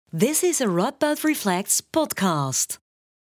This is a Radboud Reflects podcast.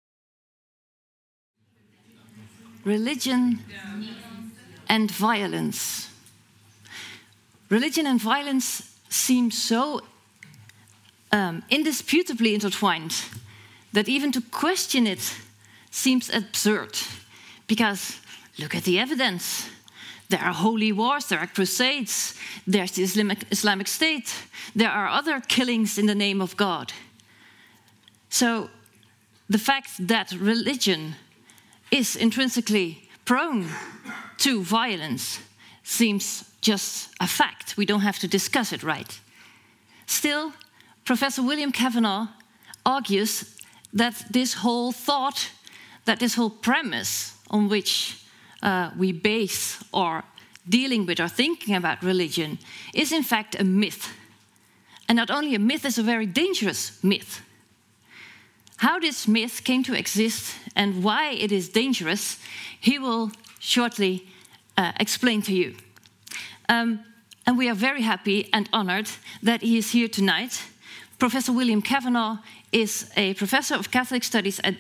Religion and violence. Religion and violence seem so indisputably intertwined that even to question it seems absurd. Because look at the evidence. There are holy wars, there are crusades, there's the Islamic State, there are other killings in the name of God. So the fact that religion is intrinsically prone to violence seems just a fact. We don't have to discuss it, right? Still, Professor William Kavanagh argues that this whole thought, that this whole premise on which we base our dealing with or thinking about religion is in fact a myth. And not only a myth, it's a very dangerous myth. How this myth came to exist and why it is dangerous, he will shortly explain to you. And we are very happy and honored that he is here tonight. Professor William Kavanagh is a professor of Catholic Studies at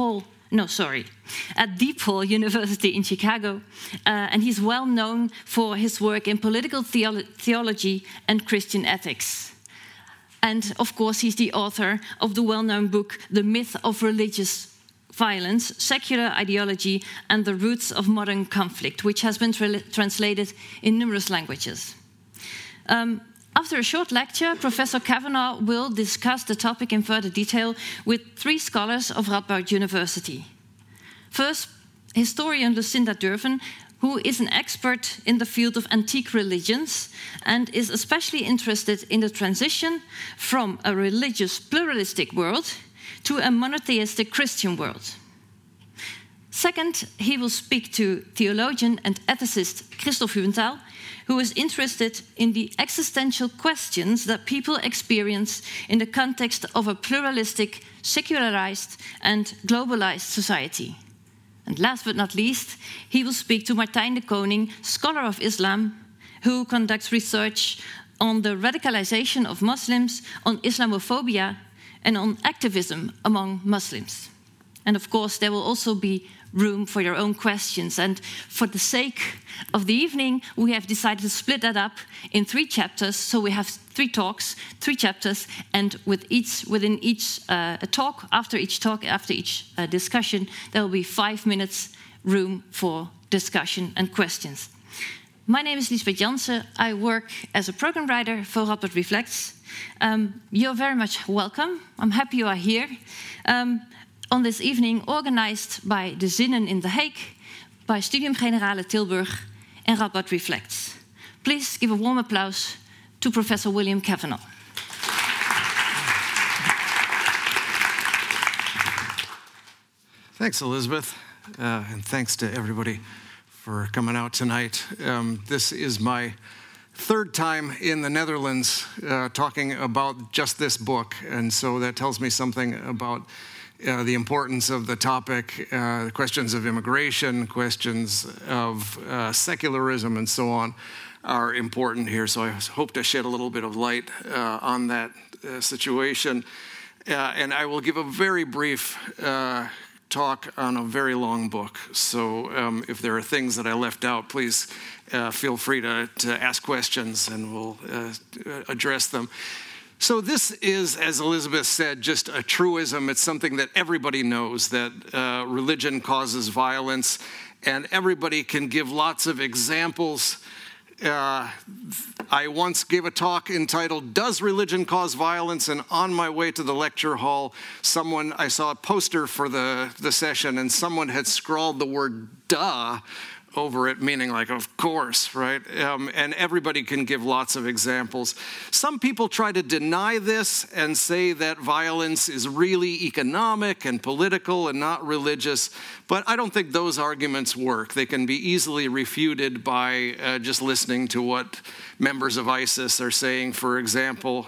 DePaul University in Chicago, and he's well known for his work in political theology and Christian ethics. And of course, he's the author of the well-known book, The Myth of Religious Violence, Secular Ideology and the Roots of Modern Conflict, which has been translated in numerous languages. After a short lecture, Professor Kavanagh will discuss the topic in further detail with three scholars of Radboud University. First, historian Lucinda Durven, who is an expert in the field of antique religions and is especially interested in the transition from a religious pluralistic world to a monotheistic Christian world. Second, he will speak to theologian and ethicist Christoph Hübenthaler, who is interested in the existential questions that people experience in the context of a pluralistic, secularized, and globalized society. And last but not least, he will speak to Martijn de Koning, scholar of Islam, who conducts research on the radicalization of Muslims, on Islamophobia, and on activism among Muslims. And of course, there will also be room for your own questions. And for the sake of the evening, we have decided to split that up in 3 chapters. So we have 3 talks, 3 chapters, and within each talk, after each discussion, there will be 5 minutes room for discussion and questions. My name is Liesbeth Jansen. I work as a program writer for Radboud Reflects. You're very much welcome. I'm happy you are here. On this evening, organized by De Zinnen in The Hague, by Studium Generale Tilburg and Radboud Reflects. Please give a warm applause to Professor William Kavanagh. Thanks, Elizabeth, and thanks to everybody for coming out tonight. This is my 3rd time in the Netherlands talking about just this book, and so that tells me something about the importance of the topic, the questions of immigration, questions of secularism, and so on are important here. So I hope to shed a little bit of light on that situation. And I will give a very brief talk on a very long book. So if there are things that I left out, please feel free to ask questions and we'll address them. So this is, as Elizabeth said, just a truism. It's something that everybody knows, that religion causes violence, and everybody can give lots of examples. I once gave a talk entitled, "Does Religion Cause Violence?" And on my way to the lecture hall, I saw a poster for the session, and someone had scrawled the word "duh" over it, meaning like, of course, right? And everybody can give lots of examples. Some people try to deny this and say that violence is really economic and political and not religious, but I don't think those arguments work. They can be easily refuted by just listening to what members of ISIS are saying, for example.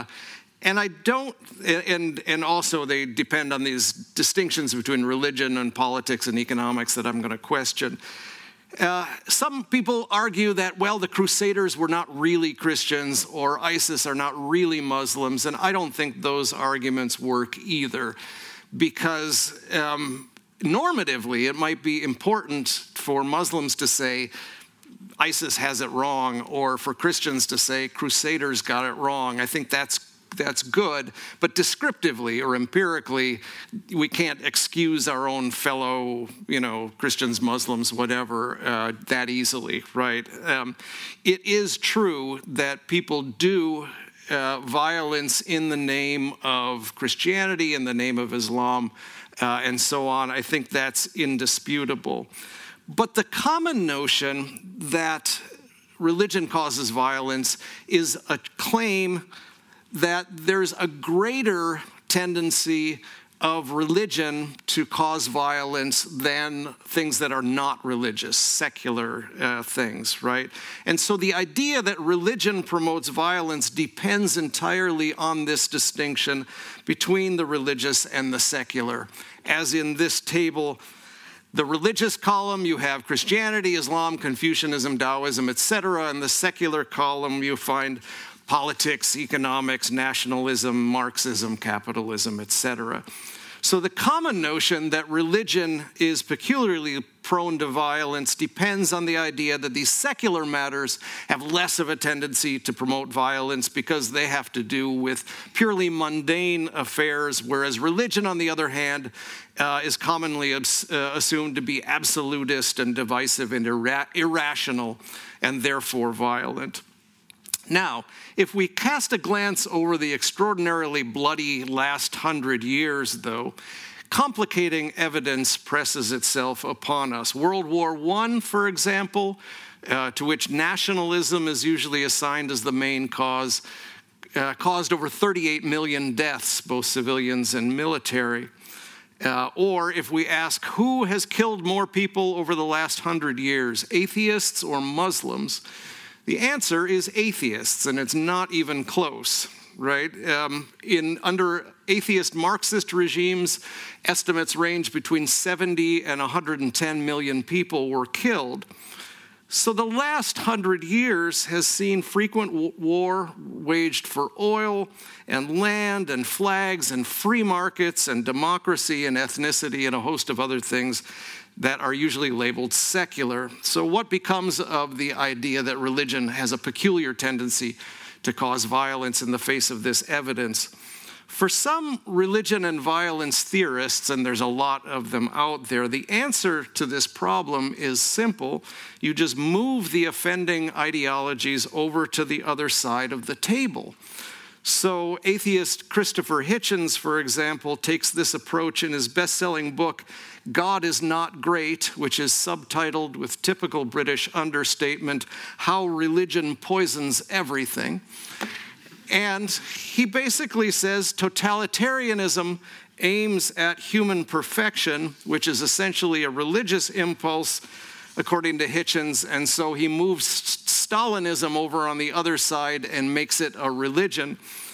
And also they depend on these distinctions between religion and politics and economics that I'm going to question. Some people argue that, well, the Crusaders were not really Christians or ISIS are not really Muslims, and I don't think those arguments work either, because normatively it might be important for Muslims to say ISIS has it wrong, or for Christians to say Crusaders got it wrong. I think that's good, but descriptively or empirically, we can't excuse our own fellow, Christians, Muslims, whatever, that easily, right? It is true that people do violence in the name of Christianity, in the name of Islam, and so on. I think that's indisputable. But the common notion that religion causes violence is a claim that there's a greater tendency of religion to cause violence than things that are not religious, secular things, right? And so the idea that religion promotes violence depends entirely on this distinction between the religious and the secular. As in this table, the religious column, you have Christianity, Islam, Confucianism, Taoism, etc. And the secular column, you find politics, economics, nationalism, Marxism, capitalism, etc. So the common notion that religion is peculiarly prone to violence depends on the idea that these secular matters have less of a tendency to promote violence because they have to do with purely mundane affairs, whereas religion, on the other hand, is commonly assumed to be absolutist and divisive and irrational and therefore violent. Now, if we cast a glance over the extraordinarily bloody last 100 years, though, complicating evidence presses itself upon us. World War I, for example, to which nationalism is usually assigned as the main cause, caused over 38 million deaths, both civilians and military. Or if we ask who has killed more people over the last 100 years, atheists or Muslims, the answer is atheists, and it's not even close, right? Under atheist Marxist regimes, estimates range between 70 and 110 million people were killed. So the last 100 years has seen frequent war waged for oil and land and flags and free markets and democracy and ethnicity and a host of other things that are usually labeled secular. So what becomes of the idea that religion has a peculiar tendency to cause violence in the face of this evidence? For some religion and violence theorists, and there's a lot of them out there, the answer to this problem is simple. You just move the offending ideologies over to the other side of the table. So atheist Christopher Hitchens, for example, takes this approach in his best-selling book, God is Not Great, which is subtitled with typical British understatement, How Religion Poisons Everything. And he basically says totalitarianism aims at human perfection, which is essentially a religious impulse, according to Hitchens, and so he moves Stalinism over on the other side and makes it a religion.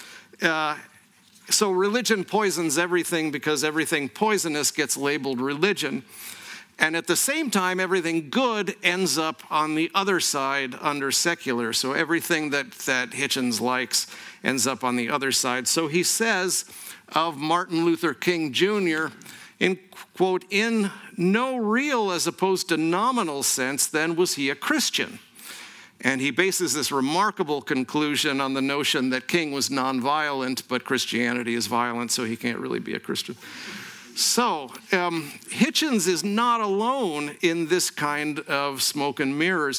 So religion poisons everything because everything poisonous gets labeled religion. And at the same time, everything good ends up on the other side under secular. So everything that Hitchens likes ends up on the other side. So he says of Martin Luther King Jr., in, quote, in no real as opposed to nominal sense, then was he a Christian. And he bases this remarkable conclusion on the notion that King was nonviolent, but Christianity is violent, so he can't really be a Christian. So Hitchens is not alone in this kind of smoke and mirrors.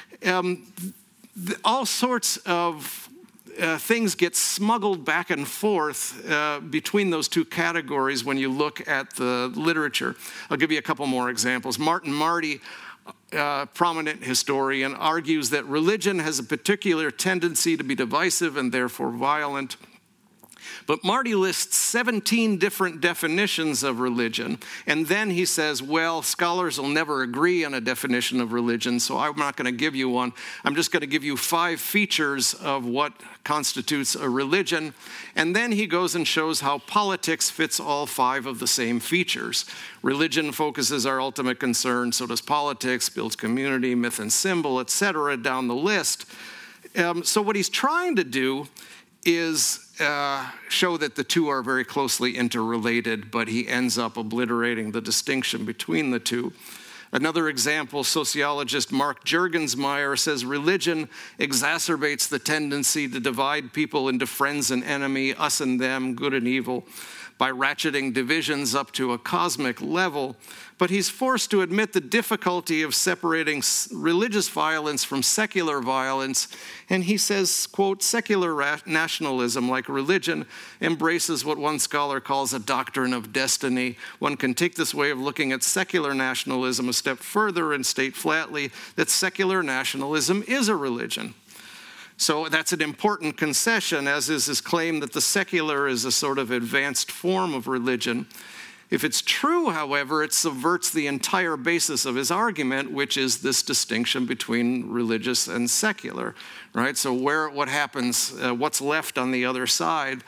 All sorts of things get smuggled back and forth between those two categories when you look at the literature. I'll give you a couple more examples. Martin Marty, prominent historian, argues that religion has a particular tendency to be divisive and therefore violent. But Marty lists 17 different definitions of religion. And then he says, well, scholars will never agree on a definition of religion, so I'm not going to give you one. I'm just going to give you 5 features of what constitutes a religion. And then he goes and shows how politics fits all 5 of the same features. Religion focuses our ultimate concern, so does politics, builds community, myth and symbol, etc., down the list. So what he's trying to do is show that the two are very closely interrelated, but he ends up obliterating the distinction between the two. Another example, sociologist Mark Juergensmeyer says religion exacerbates the tendency to divide people into friends and enemy, us and them, good and evil, by ratcheting divisions up to a cosmic level. But he's forced to admit the difficulty of separating religious violence from secular violence. And he says, quote, secular nationalism, like religion, embraces what one scholar calls a doctrine of destiny. One can take this way of looking at secular nationalism a step further and state flatly that secular nationalism is a religion. So that's an important concession, as is his claim that the secular is a sort of advanced form of religion. If it's true, however, it subverts the entire basis of his argument, which is this distinction between religious and secular, right? So what happens, what's left on the other side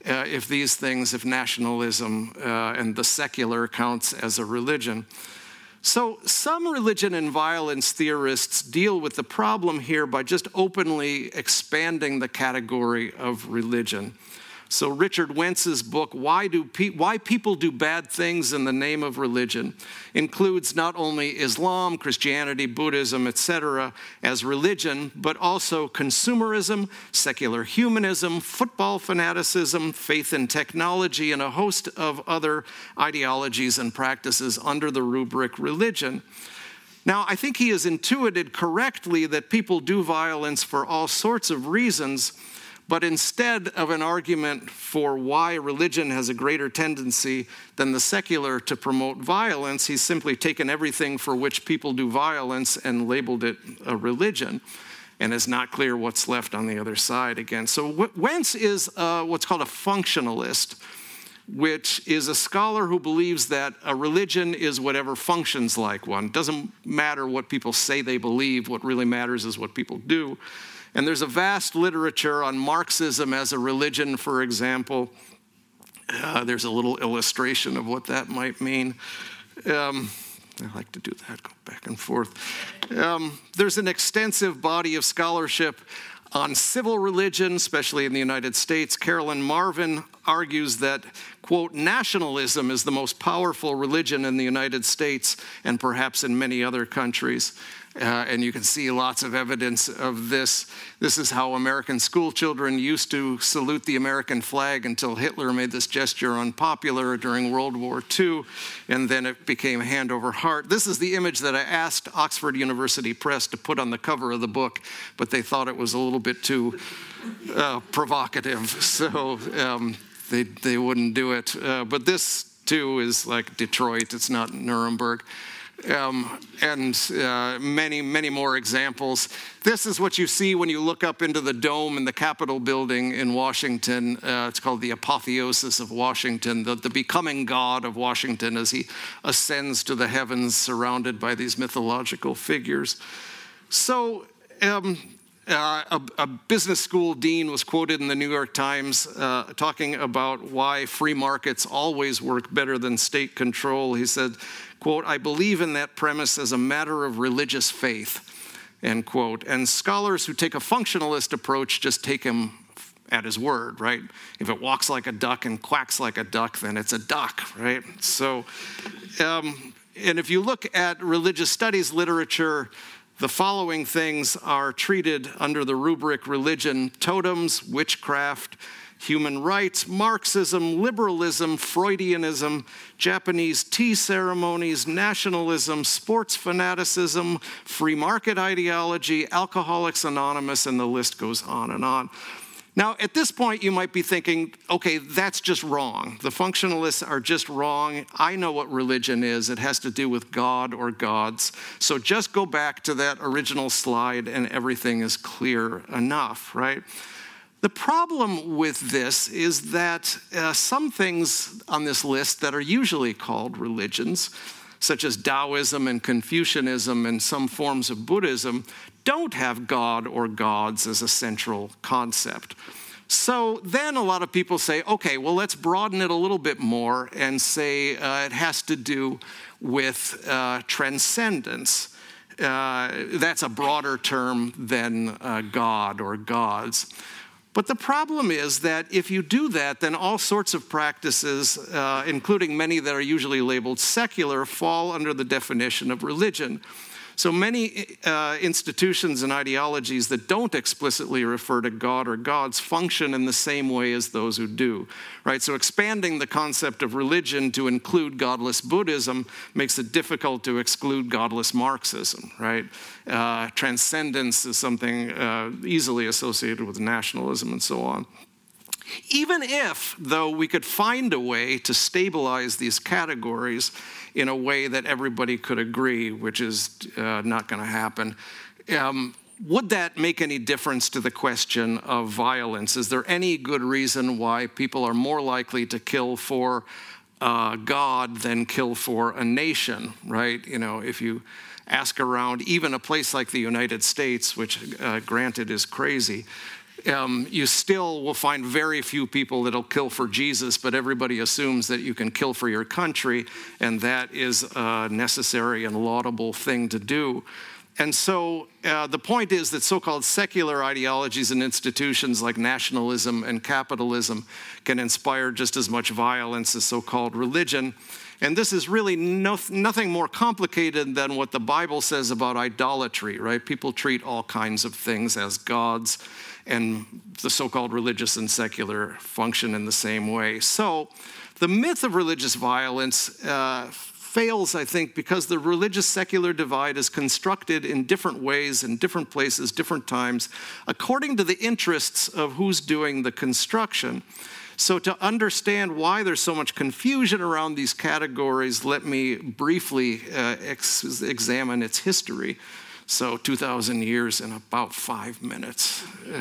if nationalism and the secular counts as a religion? So some religion and violence theorists deal with the problem here by just openly expanding the category of religion. So Richard Wentz's book, Why People Do Bad Things in the Name of Religion, includes not only Islam, Christianity, Buddhism, etc. as religion, but also consumerism, secular humanism, football fanaticism, faith in technology, and a host of other ideologies and practices under the rubric religion. Now, I think he has intuited correctly that people do violence for all sorts of reasons, but instead of an argument for why religion has a greater tendency than the secular to promote violence, he's simply taken everything for which people do violence and labeled it a religion, and it's not clear what's left on the other side again. So Wentz is what's called a functionalist, which is a scholar who believes that a religion is whatever functions like one. It doesn't matter what people say they believe. What really matters is what people do. And there's a vast literature on Marxism as a religion, for example. There's a little illustration of what that might mean. I like to do that, go back and forth. There's an extensive body of scholarship on civil religion, especially in the United States. Carolyn Marvin argues that, quote, nationalism is the most powerful religion in the United States and perhaps in many other countries. And you can see lots of evidence of this. This is how American school children used to salute the American flag until Hitler made this gesture unpopular during World War II, and then it became hand over heart. This is the image that I asked Oxford University Press to put on the cover of the book, but they thought it was a little bit too provocative, so they wouldn't do it. But this, too, is like Detroit. It's not Nuremberg. And many, many more examples. This is what you see when you look up into the dome in the Capitol building in Washington. It's called the apotheosis of Washington, the becoming God of Washington as he ascends to the heavens surrounded by these mythological figures. So a business school dean was quoted in the New York Times talking about why free markets always work better than state control. He said, quote, I believe in that premise as a matter of religious faith, end quote. And scholars who take a functionalist approach just take him at his word, right? If it walks like a duck and quacks like a duck, then it's a duck, right? So, and if you look at religious studies literature, the following things are treated under the rubric religion: totems, witchcraft, human rights, Marxism, liberalism, Freudianism, Japanese tea ceremonies, nationalism, sports fanaticism, free market ideology, Alcoholics Anonymous, and the list goes on and on. Now, at this point, you might be thinking, okay, that's just wrong. The functionalists are just wrong. I know what religion is. It has to do with God or gods. So just go back to that original slide and everything is clear enough, right? The problem with this is that some things on this list that are usually called religions, such as Taoism and Confucianism and some forms of Buddhism, don't have God or gods as a central concept. So then a lot of people say, okay, well, let's broaden it a little bit more and say it has to do with transcendence. That's a broader term than God or gods. But the problem is that if you do that, then all sorts of practices, including many that are usually labeled secular, fall under the definition of religion. So many institutions and ideologies that don't explicitly refer to God or gods function in the same way as those who do, right? So expanding the concept of religion to include godless Buddhism makes it difficult to exclude godless Marxism, right? Transcendence is something easily associated with nationalism and so on. Even if, though, we could find a way to stabilize these categories in a way that everybody could agree, which is not going to happen, would that make any difference to the question of violence? Is there any good reason why people are more likely to kill for God than kill for a nation, right? You know, if you ask around, even a place like the United States, which granted is crazy, you still will find very few people that'll kill for Jesus, but everybody assumes that you can kill for your country, and that is a necessary and laudable thing to do. And so the point is that so-called secular ideologies and institutions like nationalism and capitalism can inspire just as much violence as so-called religion. And this is really nothing more complicated than what the Bible says about idolatry, right? People treat all kinds of things as gods, and the so-called religious and secular function in the same way. So the myth of religious violence fails, I think, because the religious-secular divide is constructed in different ways, in different places, different times, according to the interests of who's doing the construction. So to understand why there's so much confusion around these categories, let me briefly examine its history. So 2,000 years in about 5 minutes.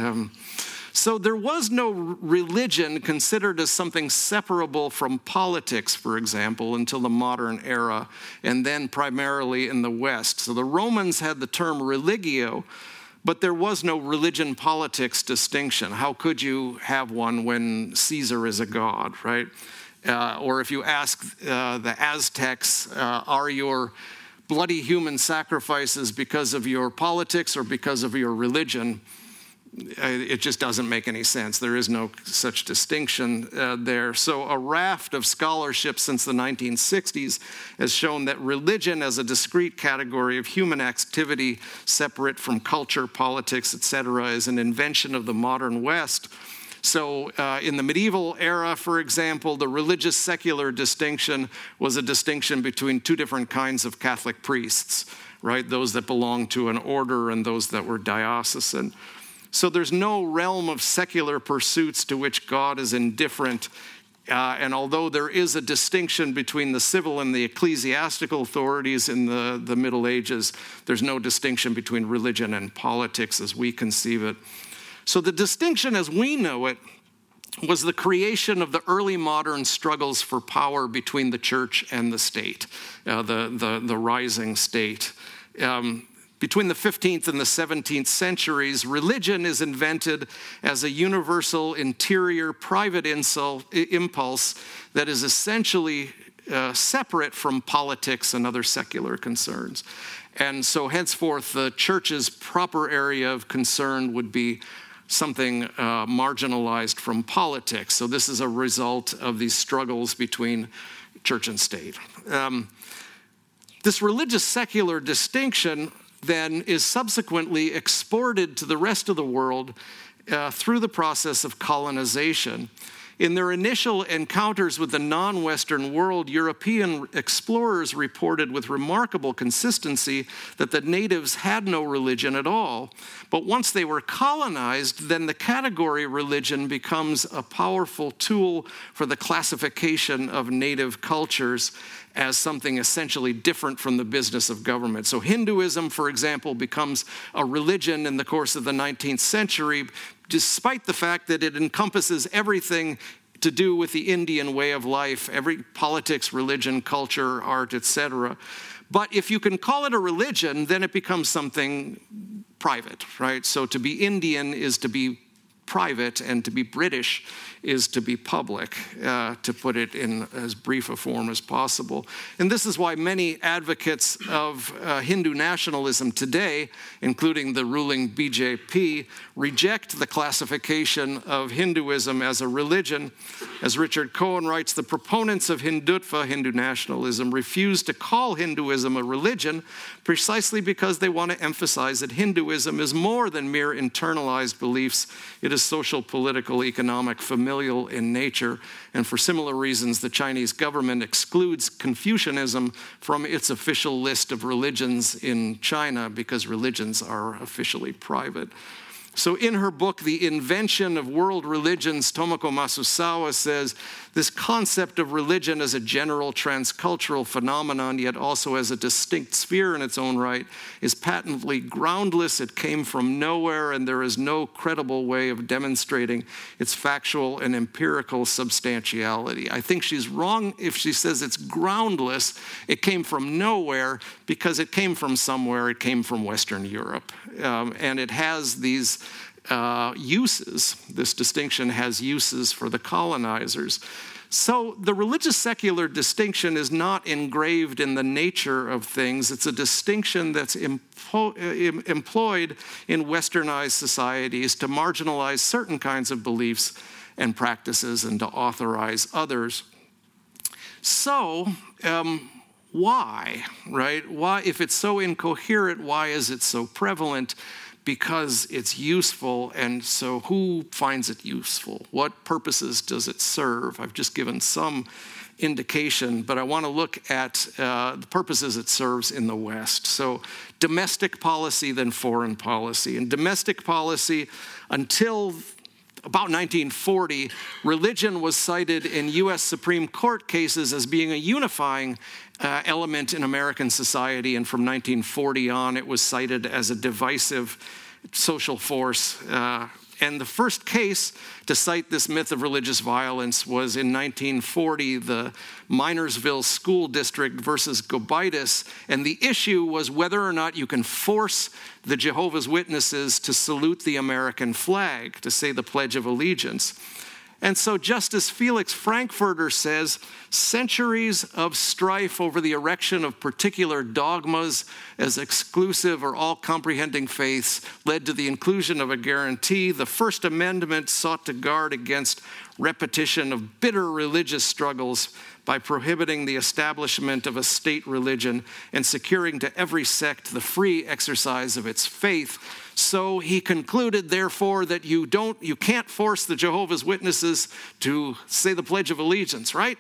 So there was no religion considered as something separable from politics, for example, until the modern era, and then primarily in the West. So the Romans had the term religio, but there was no religion-politics distinction. How could you have one when Caesar is a god, right? Or if you ask the Aztecs, are your bloody human sacrifices because of your politics or because of your religion? It just doesn't make any sense. There is no such distinction there. So a raft of scholarship since the 1960s has shown that religion as a discrete category of human activity separate from culture, politics, etc., is an invention of the modern West. So in the medieval era, for example, the religious-secular distinction was a distinction between two different kinds of Catholic priests, right? Those that belonged to an order and those that were diocesan. So there's no realm of secular pursuits to which God is indifferent. And although there is a distinction between the civil and the ecclesiastical authorities in the Middle Ages, there's no distinction between religion and politics as we conceive it. So the distinction as we know it was the creation of the early modern struggles for power between the church and the state, the rising state. Between the 15th and the 17th centuries, religion is invented as a universal interior private impulse that is essentially separate from politics and other secular concerns. And so henceforth, the church's proper area of concern would be something marginalized from politics. So this is a result of these struggles between church and state. This religious-secular distinction then is subsequently exported to the rest of the world through the process of colonization. In their initial encounters with the non-Western world, European explorers reported with remarkable consistency that the natives had no religion at all. But once they were colonized, then the category religion becomes a powerful tool for the classification of native cultures as something essentially different from the business of government. So Hinduism, for example, becomes a religion in the course of the 19th century despite the fact that it encompasses everything to do with the Indian way of life, every politics, religion, culture, art, etc. But if you can call it a religion, then it becomes something private, right? So to be Indian is to be private, and to be British is to be public, to put it in as brief a form as possible. And this is why many advocates of Hindu nationalism today, including the ruling BJP, reject the classification of Hinduism as a religion. As Richard Cohen writes, the proponents of Hindutva, Hindu nationalism, refuse to call Hinduism a religion precisely because they want to emphasize that Hinduism is more than mere internalized beliefs. It is social, political, economic, familial in nature, and for similar reasons, the Chinese government excludes Confucianism from its official list of religions in China because religions are officially private. So in her book, The Invention of World Religions, Tomoko Masusawa says, this concept of religion as a general transcultural phenomenon, yet also as a distinct sphere in its own right, is patently groundless. It came from nowhere, and there is no credible way of demonstrating its factual and empirical substantiality. I think she's wrong if she says it's groundless. It came from nowhere because it came from somewhere. It came from Western Europe. And it has these uses. This distinction has uses for the colonizers. So the religious secular distinction is not engraved in the nature of things. It's a distinction that's employed in westernized societies to marginalize certain kinds of beliefs and practices and to authorize others. So, why, right? Why, if it's so incoherent, why is it so prevalent? Because it's useful, and so who finds it useful? What purposes does it serve? I've just given some indication, but I want to look at the purposes it serves in the West. So domestic policy, then foreign policy. In domestic policy, until about 1940, religion was cited in U.S. Supreme Court cases as being a unifying element in American society, and from 1940 on, it was cited as a divisive social force. And the first case to cite this myth of religious violence was in 1940, the Minersville School District versus Gobaitis, and the issue was whether or not you can force the Jehovah's Witnesses to salute the American flag, to say the Pledge of Allegiance. And so Justice Felix Frankfurter says, centuries of strife over the erection of particular dogmas as exclusive or all-comprehending faiths led to the inclusion of a guarantee. The First Amendment sought to guard against repetition of bitter religious struggles by prohibiting the establishment of a state religion and securing to every sect the free exercise of its faith. So he concluded, therefore, that you can't force the Jehovah's Witnesses to say the Pledge of Allegiance, right?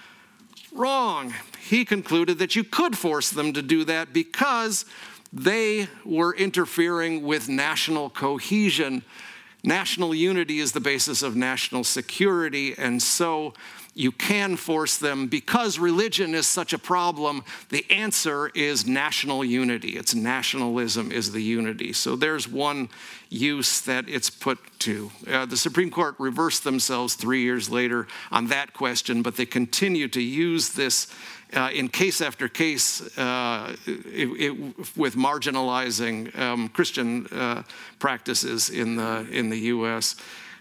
Wrong. He concluded that you could force them to do that because they were interfering with national cohesion. National unity is the basis of national security, and so you can force them. Because religion is such a problem, the answer is national unity. It's nationalism is the unity. So there's one use that it's put to. The Supreme Court reversed themselves 3 years later on that question, but they continue to use this in case after case with marginalizing Christian practices in the U.S.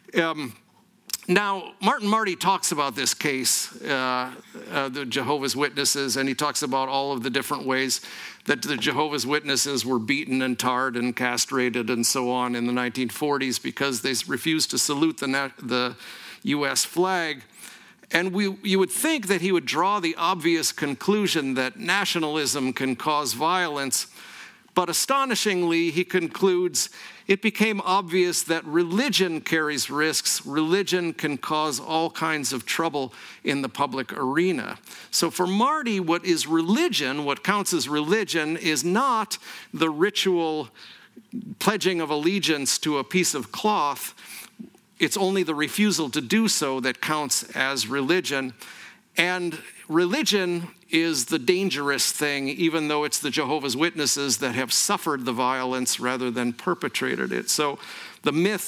Now, Martin Marty talks about this case, the Jehovah's Witnesses, and he talks about all of the different ways that the Jehovah's Witnesses were beaten and tarred and castrated and so on in the 1940s because they refused to salute the U.S. flag. And you would think that he would draw the obvious conclusion that nationalism can cause violence, but astonishingly, he concludes, it became obvious that religion carries risks. Religion can cause all kinds of trouble in the public arena. So for Marty, what is religion, what counts as religion, is not the ritual pledging of allegiance to a piece of cloth. It's only the refusal to do so that counts as religion. And religion is the dangerous thing, even though it's the Jehovah's Witnesses that have suffered the violence rather than perpetrated it. So the myth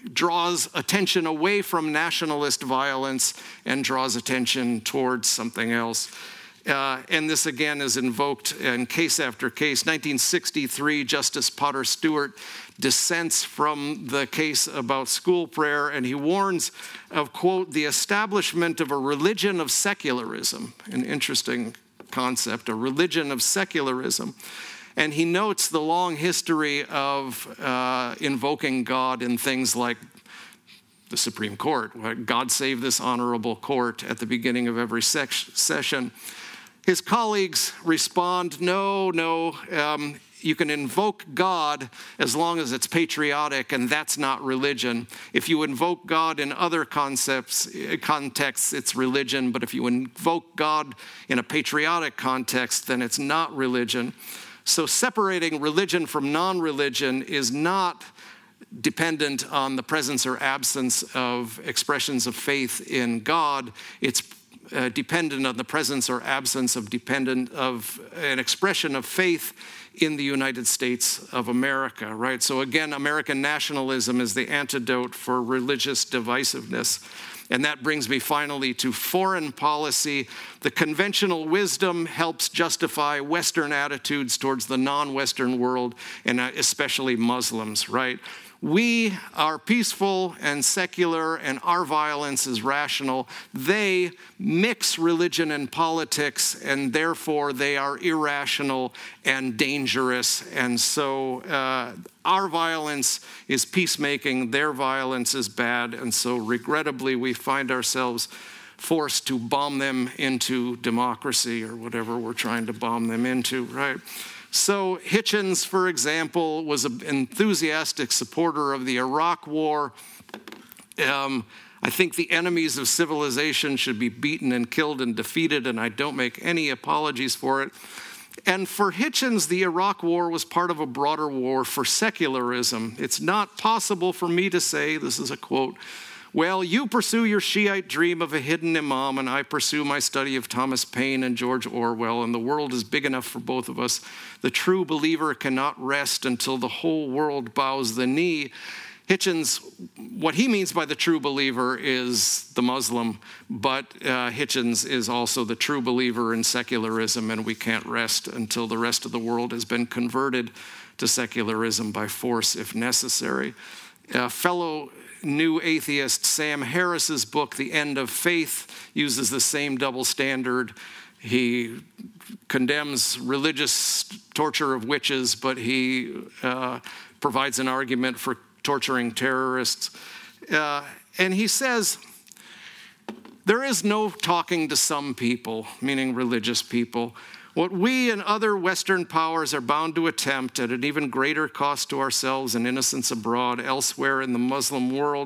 draws attention away from nationalist violence and draws attention towards something else. And this again is invoked in case after case. 1963, Justice Potter Stewart dissents from the case about school prayer, and he warns of, quote, the establishment of a religion of secularism, an interesting concept, a religion of secularism. And he notes the long history of invoking God in things like the Supreme Court. God save this honorable court at the beginning of every session. His colleagues respond, no, you can invoke God as long as it's patriotic, and that's not religion. If you invoke God in other contexts, it's religion, but if you invoke God in a patriotic context, then it's not religion. So separating religion from non-religion is not dependent on the presence or absence of expressions of faith in God. It's dependent on the presence or absence of an expression of faith in the United States of America, right? So again, American nationalism is the antidote for religious divisiveness. And that brings me finally to foreign policy. The conventional wisdom helps justify Western attitudes towards the non-Western world, and especially Muslims, right? We are peaceful and secular, and our violence is rational. They mix religion and politics, and therefore they are irrational and dangerous. And so our violence is peacemaking, their violence is bad, and so regrettably we find ourselves forced to bomb them into democracy or whatever we're trying to bomb them into, right? So Hitchens, for example, was an enthusiastic supporter of the Iraq War. I think the enemies of civilization should be beaten and killed and defeated, and I don't make any apologies for it. And for Hitchens, the Iraq War was part of a broader war for secularism. It's not possible for me to say, this is a quote, well, you pursue your Shiite dream of a hidden imam, and I pursue my study of Thomas Paine and George Orwell, and the world is big enough for both of us. The true believer cannot rest until the whole world bows the knee. Hitchens, what he means by the true believer is the Muslim, but Hitchens is also the true believer in secularism, and we can't rest until the rest of the world has been converted to secularism by force if necessary. Fellow New Atheist Sam Harris's book, The End of Faith, uses the same double standard. He condemns religious torture of witches, but he provides an argument for torturing terrorists. And he says, there is no talking to some people, meaning religious people. What we and other Western powers are bound to attempt at an even greater cost to ourselves and innocents abroad elsewhere in the Muslim world,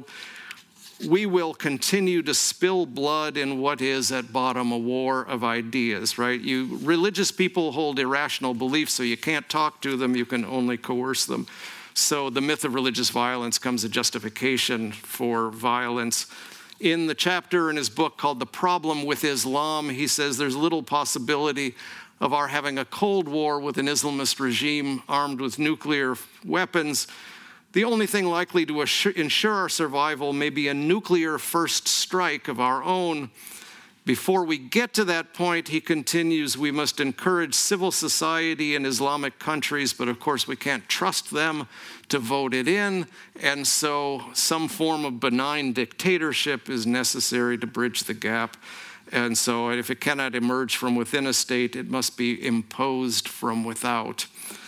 we will continue to spill blood in what is at bottom a war of ideas, right? Religious people hold irrational beliefs, so you can't talk to them, you can only coerce them. So the myth of religious violence comes a justification for violence. In the chapter in his book called The Problem with Islam, he says there's little possibility of our having a Cold War with an Islamist regime armed with nuclear weapons. The only thing likely to ensure our survival may be a nuclear first strike of our own. Before we get to that point, he continues, we must encourage civil society in Islamic countries, but of course we can't trust them to vote it in, and so some form of benign dictatorship is necessary to bridge the gap. And so if it cannot emerge from within a state, it must be imposed from without.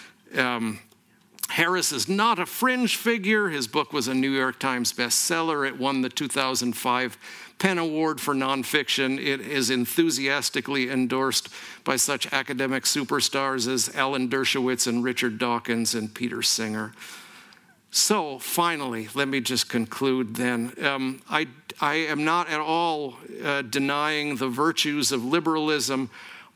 Harris is not a fringe figure. His book was a New York Times bestseller. It won the 2005 PEN Award for nonfiction. It is enthusiastically endorsed by such academic superstars as Alan Dershowitz and Richard Dawkins and Peter Singer. So finally, let me just conclude then. I am not at all denying the virtues of liberalism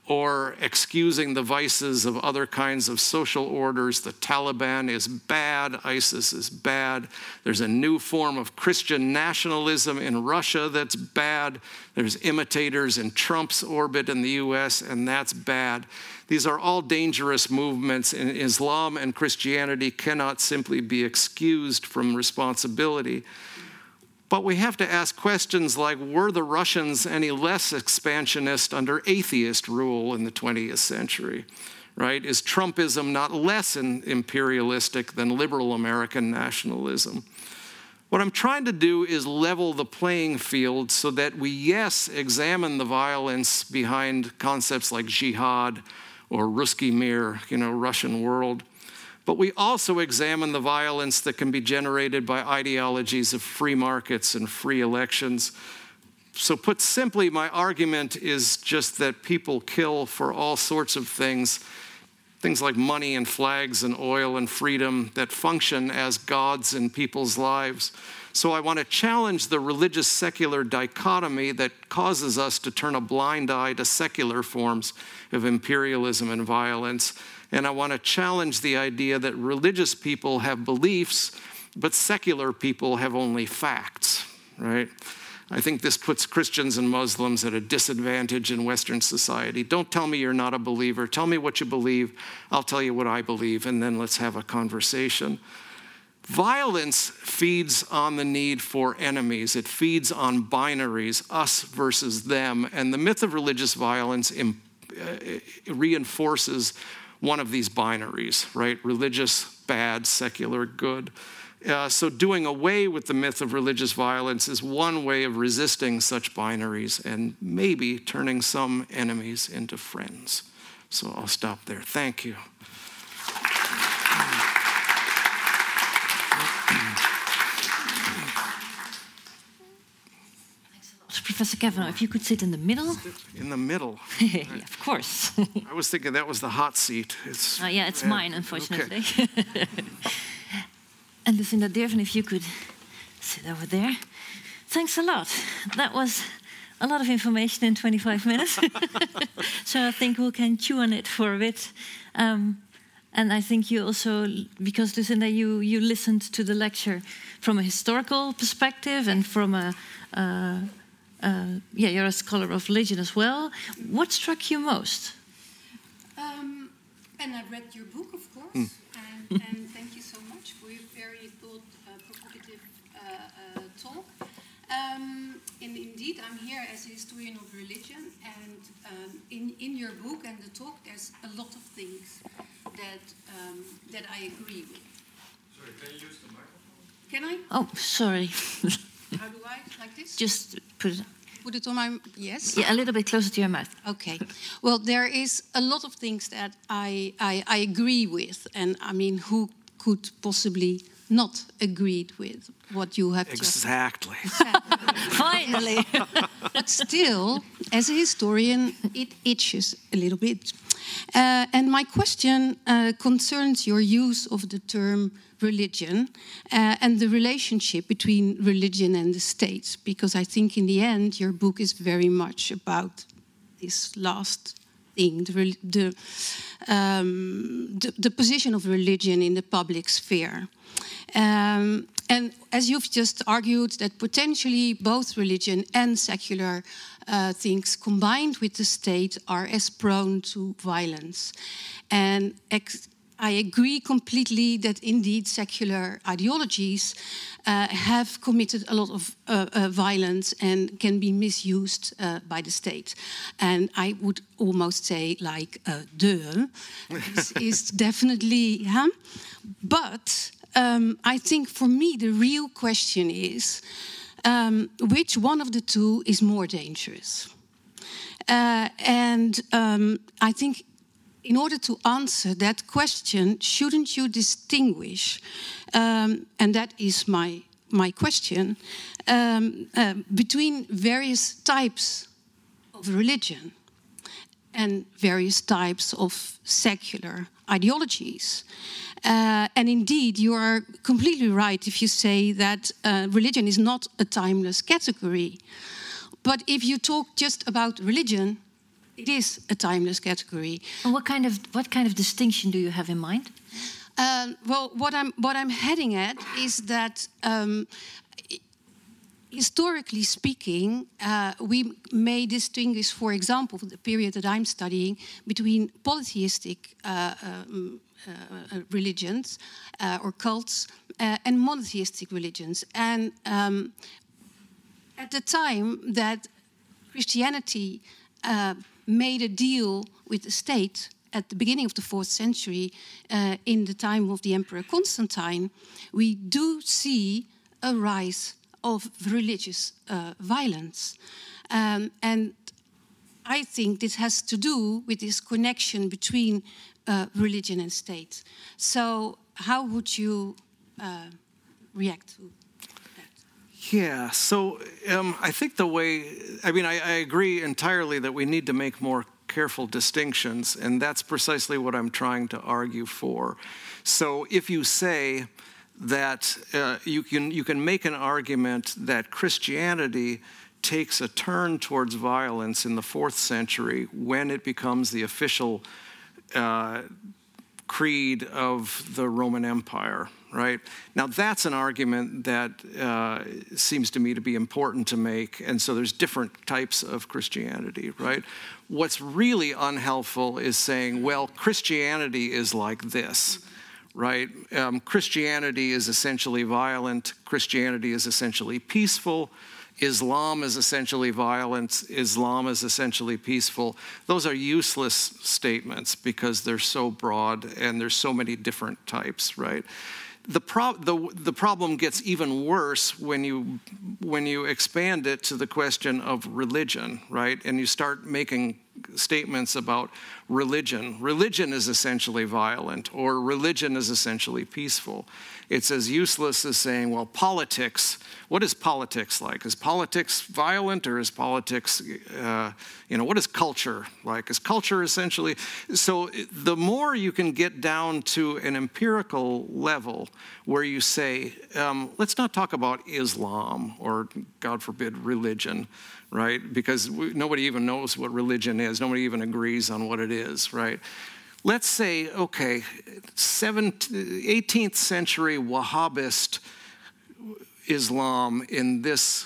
or excusing the vices of other kinds of social orders. The Taliban is bad, ISIS is bad. There's a new form of Christian nationalism in Russia that's bad. There's imitators in Trump's orbit in the US, and that's bad. These are all dangerous movements, and Islam and Christianity cannot simply be excused from responsibility. But we have to ask questions like, were the Russians any less expansionist under atheist rule in the 20th century, right? Is Trumpism not less imperialistic than liberal American nationalism? What I'm trying to do is level the playing field so that we, yes, examine the violence behind concepts like jihad or Ruski Mir, Russian world. But we also examine the violence that can be generated by ideologies of free markets and free elections. So put simply, my argument is just that people kill for all sorts of things like money and flags and oil and freedom that function as gods in people's lives. So I want to challenge the religious-secular dichotomy that causes us to turn a blind eye to secular forms of imperialism and violence. And I want to challenge the idea that religious people have beliefs, but secular people have only facts, right? I think this puts Christians and Muslims at a disadvantage in Western society. Don't tell me you're not a believer. Tell me what you believe. I'll tell you what I believe, and then let's have a conversation. Violence feeds on the need for enemies. It feeds on binaries, us versus them. And the myth of religious violence reinforces one of these binaries, right? Religious, bad, secular, good. So doing away with the myth of religious violence is one way of resisting such binaries and maybe turning some enemies into friends. So I'll stop there. Thank you. Professor Kavanaugh, if you could sit in the middle. In the middle? Yeah, of course. I was thinking that was the hot seat. It's mine, unfortunately. Okay. And Lucinda Dearden, if you could sit over there. Thanks a lot. That was a lot of information in 25 minutes. So I think we can chew on it for a bit. And I think you also, because Lucinda, you listened to the lecture from a historical perspective and from you're a scholar of religion as well. What struck you most? And I read your book, of course, and thank you so much for your very provocative talk. And indeed, I'm here as a historian of religion, and in your book and the talk, there's a lot of things that I agree with. Sorry, can you use the microphone? Can I? Oh, sorry. How do I? Like this? Just put it on my... Yes? Yeah, a little bit closer to your mouth. Okay. Well, there is a lot of things that I agree with. And I mean, who could possibly not agree with what you have Exactly. Finally. But still, as a historian, it itches a little bit. And my question concerns your use of the term religion and the relationship between religion and the state, because I think in the end your book is very much about this last thing, the position of religion in the public sphere. And as you've just argued, that potentially both religion and secular things combined with the state are as prone to violence. And I agree completely that indeed secular ideologies have committed a lot of violence and can be misused by the state. And I would almost say like, this is definitely, but I think for me the real question is, which one of the two is more dangerous? And I think in order to answer that question, shouldn't you distinguish, and that is my question, between various types of religion and various types of secular ideologies? And indeed, you are completely right if you say that religion is not a timeless category. But if you talk just about religion, it is a timeless category. And what kind of distinction do you have in mind? Well, what I'm heading at is that historically speaking, we may distinguish, for example, the period that I'm studying, between polytheistic religions or cults and monotheistic religions. And at the time that Christianity made a deal with the state at the beginning of the 4th century, in the time of the Emperor Constantine, we do see a rise of religious violence. And I think this has to do with this connection between religion and state. So how would you react to that? Yeah, so I think I agree entirely that we need to make more careful distinctions, and that's precisely what I'm trying to argue for. So if you say that you can make an argument that Christianity takes a turn towards violence in the 4th century when it becomes the official creed of the Roman Empire, right? Now that's an argument that seems to me to be important to make, and so there's different types of Christianity, right? What's really unhelpful is saying, well, Christianity is like this, right? Christianity is essentially violent. Christianity is essentially peaceful. Islam is essentially violent. Islam is essentially peaceful. Those are useless statements because they're so broad and there's so many different types, right? The problem gets even worse when you expand it to the question of religion, right? And you start making statements about religion. Religion is essentially violent, or religion is essentially peaceful. It's as useless as saying, well, politics, what is politics like? Is politics violent, or is politics, what is culture like? Is culture essentially? So the more you can get down to an empirical level where you say, let's not talk about Islam or, God forbid, religion, right? Because nobody even knows what religion is. Nobody even agrees on what it is, right? Let's say, okay, 18th century Wahhabist Islam in this,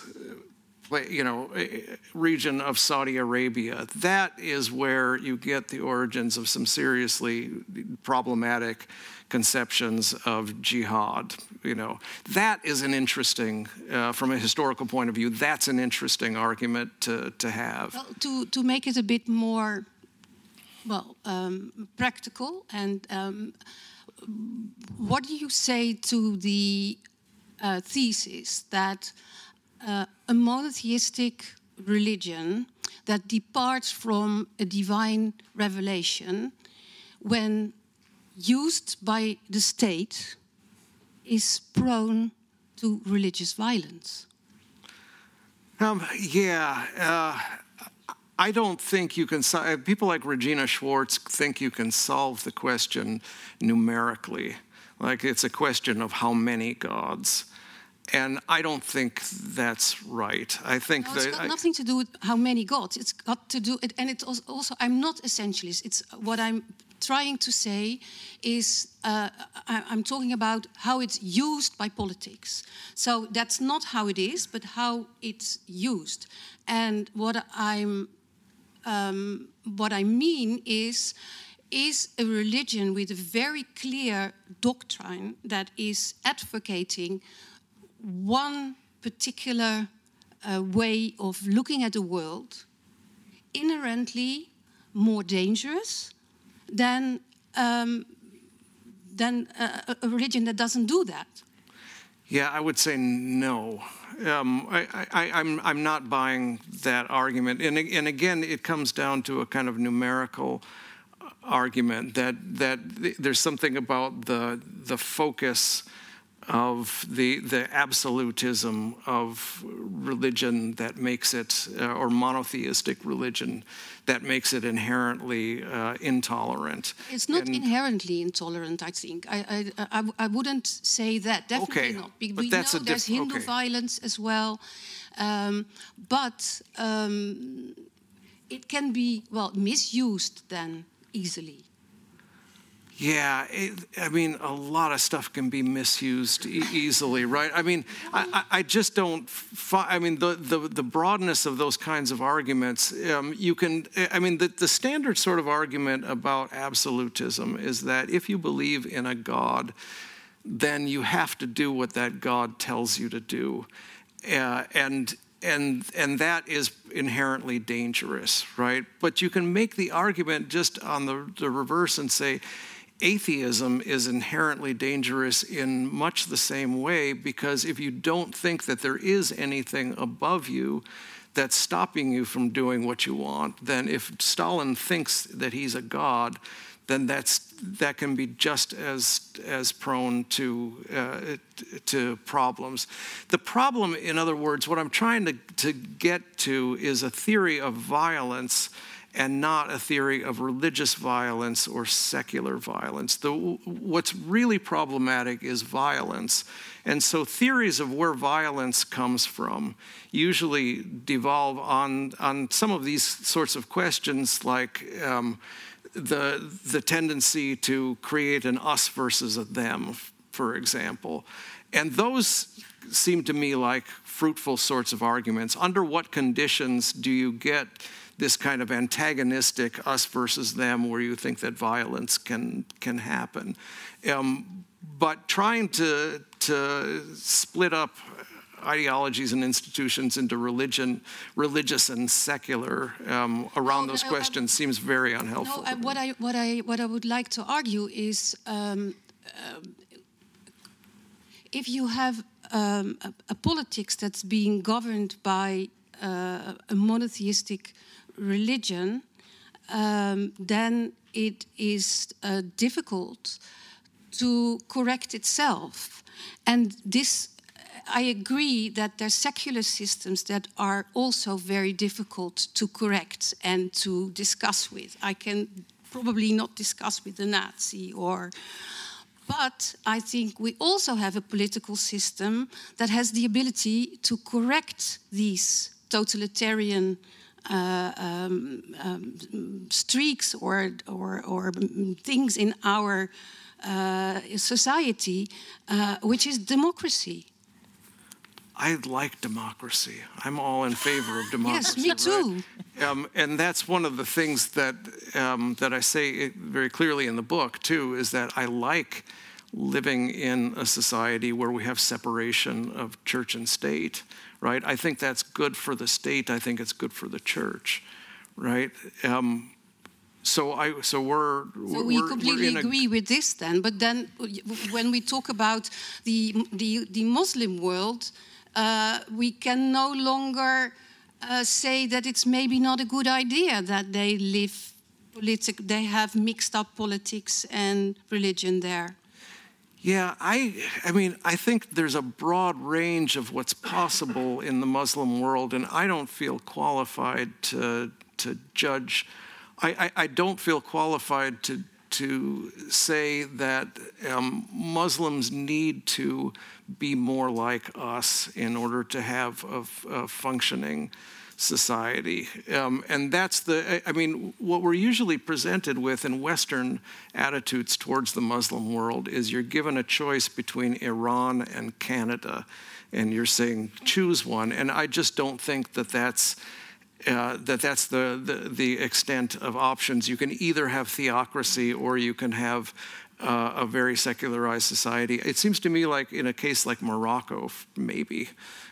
region of Saudi Arabia. That is where you get the origins of some seriously problematic conceptions of jihad. That is an interesting, from a historical point of view, that's an interesting argument to have. Well, to make it a bit more, practical, and what do you say to the thesis that a monotheistic religion that departs from a divine revelation, when used by the state, is prone to religious violence? I don't think you can. People like Regina Schwartz think you can solve the question numerically, like it's a question of how many gods. And I don't think that's right. I think it's got nothing to do with how many gods. It's got to do, and it's also I'm not essentialist. It's what I'm trying to say is I'm talking about how it's used by politics. So that's not how it is, but how it's used. And what I mean is a religion with a very clear doctrine that is advocating one particular way of looking at the world inherently more dangerous than a religion that doesn't do that? Yeah, I would say no. I'm not buying that argument. And again, it comes down to a kind of numerical argument that there's something about the focus of the absolutism of religion that makes it, or monotheistic religion, that makes it inherently intolerant. It's not inherently intolerant, I think. I wouldn't say that, definitely not. We know there's Hindu violence as well. But it can be, well, misused then easily. Yeah, I mean, a lot of stuff can be misused easily, right? I mean, I just don't. I mean, the broadness of those kinds of arguments. You can. I mean, the standard sort of argument about absolutism is that if you believe in a God, then you have to do what that God tells you to do, and that is inherently dangerous, right? But you can make the argument just on the reverse and say, atheism is inherently dangerous in much the same way, because if you don't think that there is anything above you that's stopping you from doing what you want, then if Stalin thinks that he's a god, then that can be just as prone to problems. The problem, in other words, what I'm trying to get to is a theory of violence and not a theory of religious violence or secular violence. What's really problematic is violence. And so theories of where violence comes from usually devolve on some of these sorts of questions, like the tendency to create an us versus a them, for example. And those seem to me like fruitful sorts of arguments. Under what conditions do you get this kind of antagonistic us versus them, where you think that violence can happen? But trying to split up ideologies and institutions into religious and secular around those questions seems very unhelpful. No, what I would like to argue is if you have a politics that's being governed by a monotheistic religion, then it is difficult to correct itself. And this, I agree that there are secular systems that are also very difficult to correct and to discuss with. I can probably not discuss with the Nazi but I think we also have a political system that has the ability to correct these totalitarian streaks or things in our society, which is democracy. I like democracy. I'm all in favor of democracy. Yes, me too. Right? And that's one of the things that I say very clearly in the book too, is that I like living in a society where we have separation of church and state. Right? I think that's good for the state. I think it's good for the church. Right? So we completely agree with this then. But then when we talk about the Muslim world, we can no longer say that it's maybe not a good idea that they have mixed up politics and religion there. Yeah, I mean, I think there's a broad range of what's possible in the Muslim world, and I don't feel qualified to judge. I don't feel qualified to say that Muslims need to be more like us in order to have a functioning society. And that's I mean, what we're usually presented with in Western attitudes towards the Muslim world is you're given a choice between Iran and Canada, and you're saying, choose one. And I just don't think that's the extent of options. You can either have theocracy or you can have a very secularized society. It seems to me like in a case like Morocco, maybe,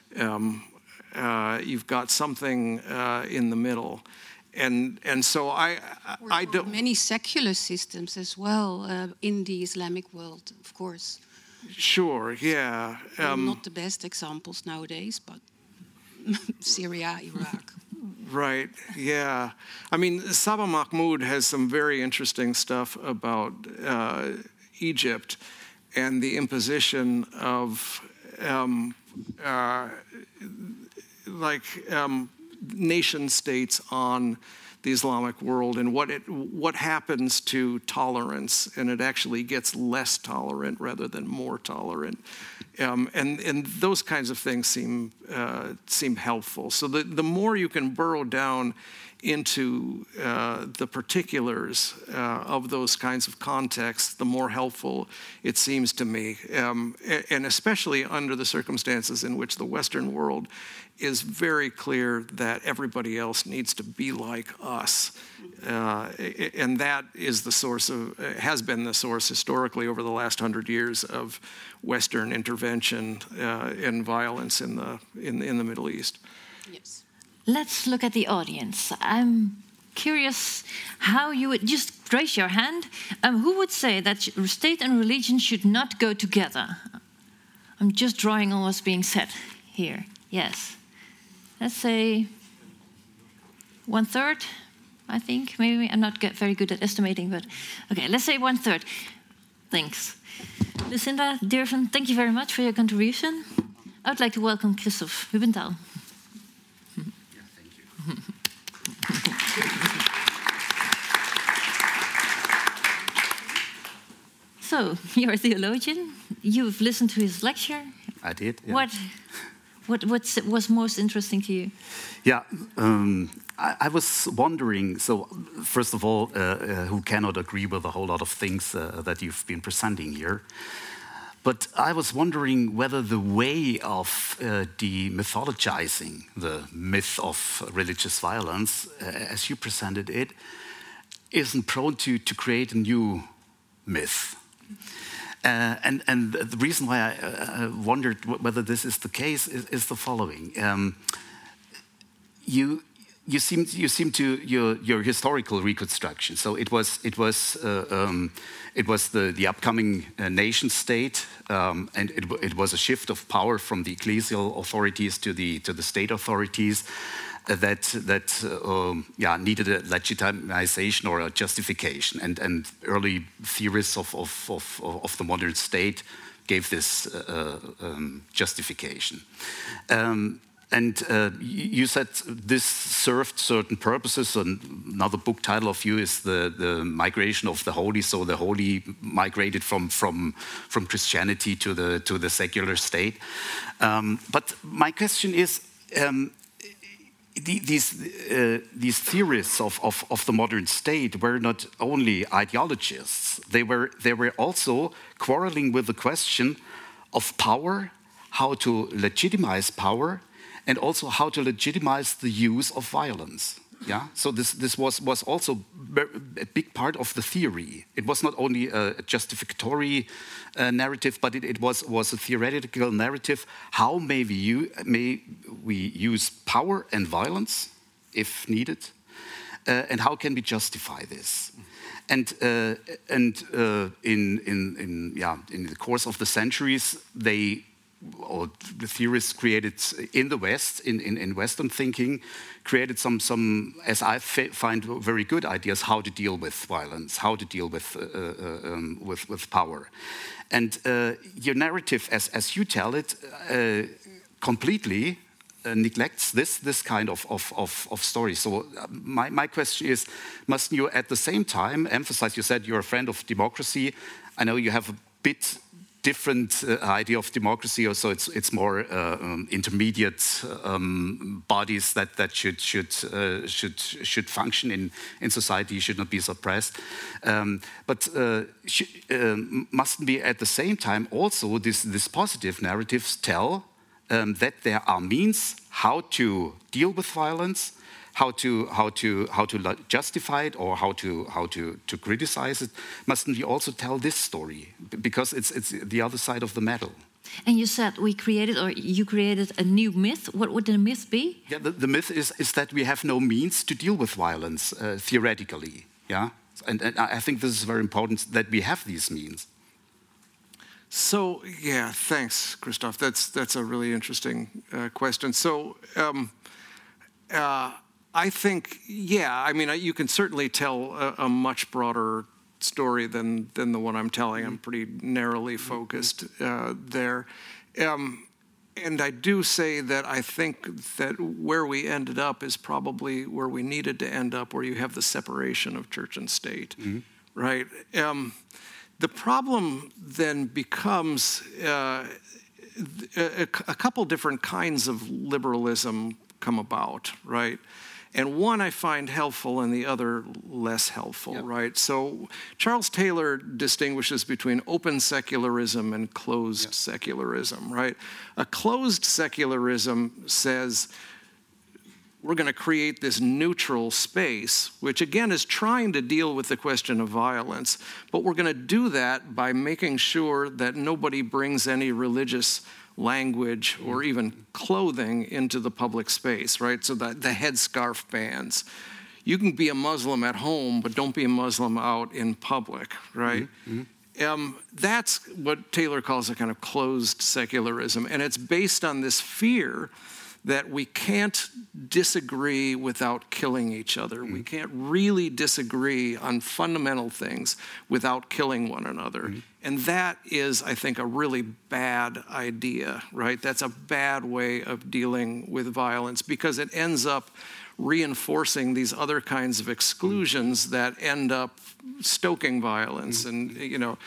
you've got something in the middle. And so I don't... Many secular systems as well in the Islamic world, of course. Sure, yeah. Not the best examples nowadays, but Syria, Iraq. Right, yeah. I mean, Saba Mahmoud has some very interesting stuff about Egypt and the imposition of nation states on the Islamic world, and what happens to tolerance, and it actually gets less tolerant rather than more tolerant. And those kinds of things seem helpful. So the more you can burrow down into the particulars of those kinds of contexts, the more helpful it seems to me. And especially under the circumstances in which the Western world is very clear that everybody else needs to be like us. And that is the source of, has been the source historically over the last 100 years of Western intervention and violence in the Middle East. Yes. Let's look at the audience. I'm curious how you would, just raise your hand, who would say that state and religion should not go together? I'm just drawing on what's being said here. Yes. Let's say 1/3, I think. Maybe I'm not very good at estimating, but okay, let's say 1/3. Thanks. Lucinda, Dirven, thank you very much for your contribution. I would like to welcome Christoph Hubenthal. So, you're a theologian. You've listened to his lecture. I did. Yeah. What was most interesting to you? Yeah, I was wondering. So, first of all, who cannot agree with a whole lot of things that you've been presenting here? But I was wondering whether the way of demythologizing the myth of religious violence, as you presented it, isn't prone to create a new myth. And the reason why I wondered whether this is the case is the following: you seem to your historical reconstruction. So it was the upcoming nation state, and it was a shift of power from the ecclesial authorities to the state authorities. That needed a legitimization or a justification, and early theorists of the modern state gave this justification. You said this served certain purposes. Another book title of you is the migration of the holy. So the holy migrated from Christianity to the secular state. But my question is. These theorists of the modern state were not only ideologists; they were also quarreling with the question of power, how to legitimize power, and also how to legitimize the use of violence. Yeah. So this was also a big part of the theory. It was not only a justificatory narrative, but it was a theoretical narrative. How may we use power and violence if needed, and how can we justify this? And in the course of the centuries, the theorists created in the West, in Western thinking, created some as I find very good ideas how to deal with violence, how to deal with power, and your narrative, as you tell it, completely neglects this kind of story. So my question is, mustn't you at the same time emphasize? You said you're a friend of democracy. I know you have a bit different idea of democracy, so it's more intermediate bodies that should function in society, should not be suppressed. But mustn't be at the same time also this positive narratives tell that there are means how to deal with violence, how to justify it, or how to criticize it. Mustn't we also tell this story, because it's the other side of the medal? And you said you created a new myth. What would the myth be? Yeah, the myth is that we have no means to deal with violence theoretically. Yeah, and I think this is very important that we have these means. So yeah, thanks, Christoph. That's a really interesting question. So. I think, yeah, I mean, you can certainly tell a much broader story than the one I'm telling. I'm pretty narrowly focused there. And I do say that I think that where we ended up is probably where we needed to end up, where you have the separation of church and state, right? The problem then becomes a couple different kinds of liberalism come about, right? And one I find helpful and the other less helpful, right? So Charles Taylor distinguishes between open secularism and closed secularism, right? A closed secularism says we're going to create this neutral space, which again is trying to deal with the question of violence, but we're going to do that by making sure that nobody brings any religious language or even clothing into the public space, right? So that the headscarf bans. You can be a Muslim at home, but don't be a Muslim out in public, right? That's what Taylor calls a kind of closed secularism, and it's based on this fear that we can't disagree without killing each other. We can't really disagree on fundamental things without killing one another. And that is, I think, a really bad idea, right? That's a bad way of dealing with violence because it ends up reinforcing these other kinds of exclusions that end up stoking violence. And, you know,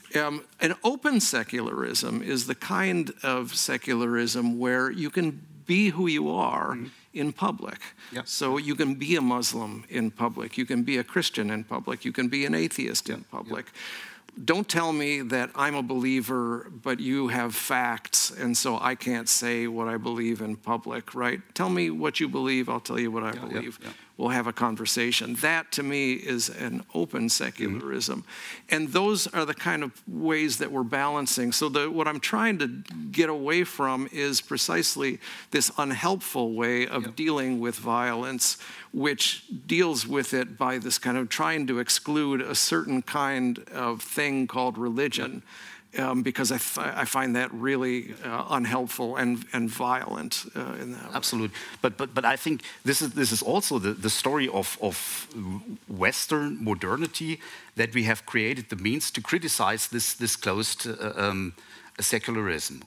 an open secularism is the kind of secularism where you can be who you are in public. So you can be a Muslim in public. You can be a Christian in public. You can be an atheist in public. Don't tell me that I'm a believer, but you have facts, and so I can't say what I believe in public, right? Tell me what you believe, I'll tell you what I believe. We'll have a conversation. That, to me, is an open secularism. And those are the kind of ways that we're balancing. So what I'm trying to get away from is precisely this unhelpful way of dealing with violence, which deals with it by this kind of trying to exclude a certain kind of thing called religion, because I find that really unhelpful and violent in that way. Absolutely, but I think this is also the story of Western modernity, that we have created the means to criticize this closed secularism,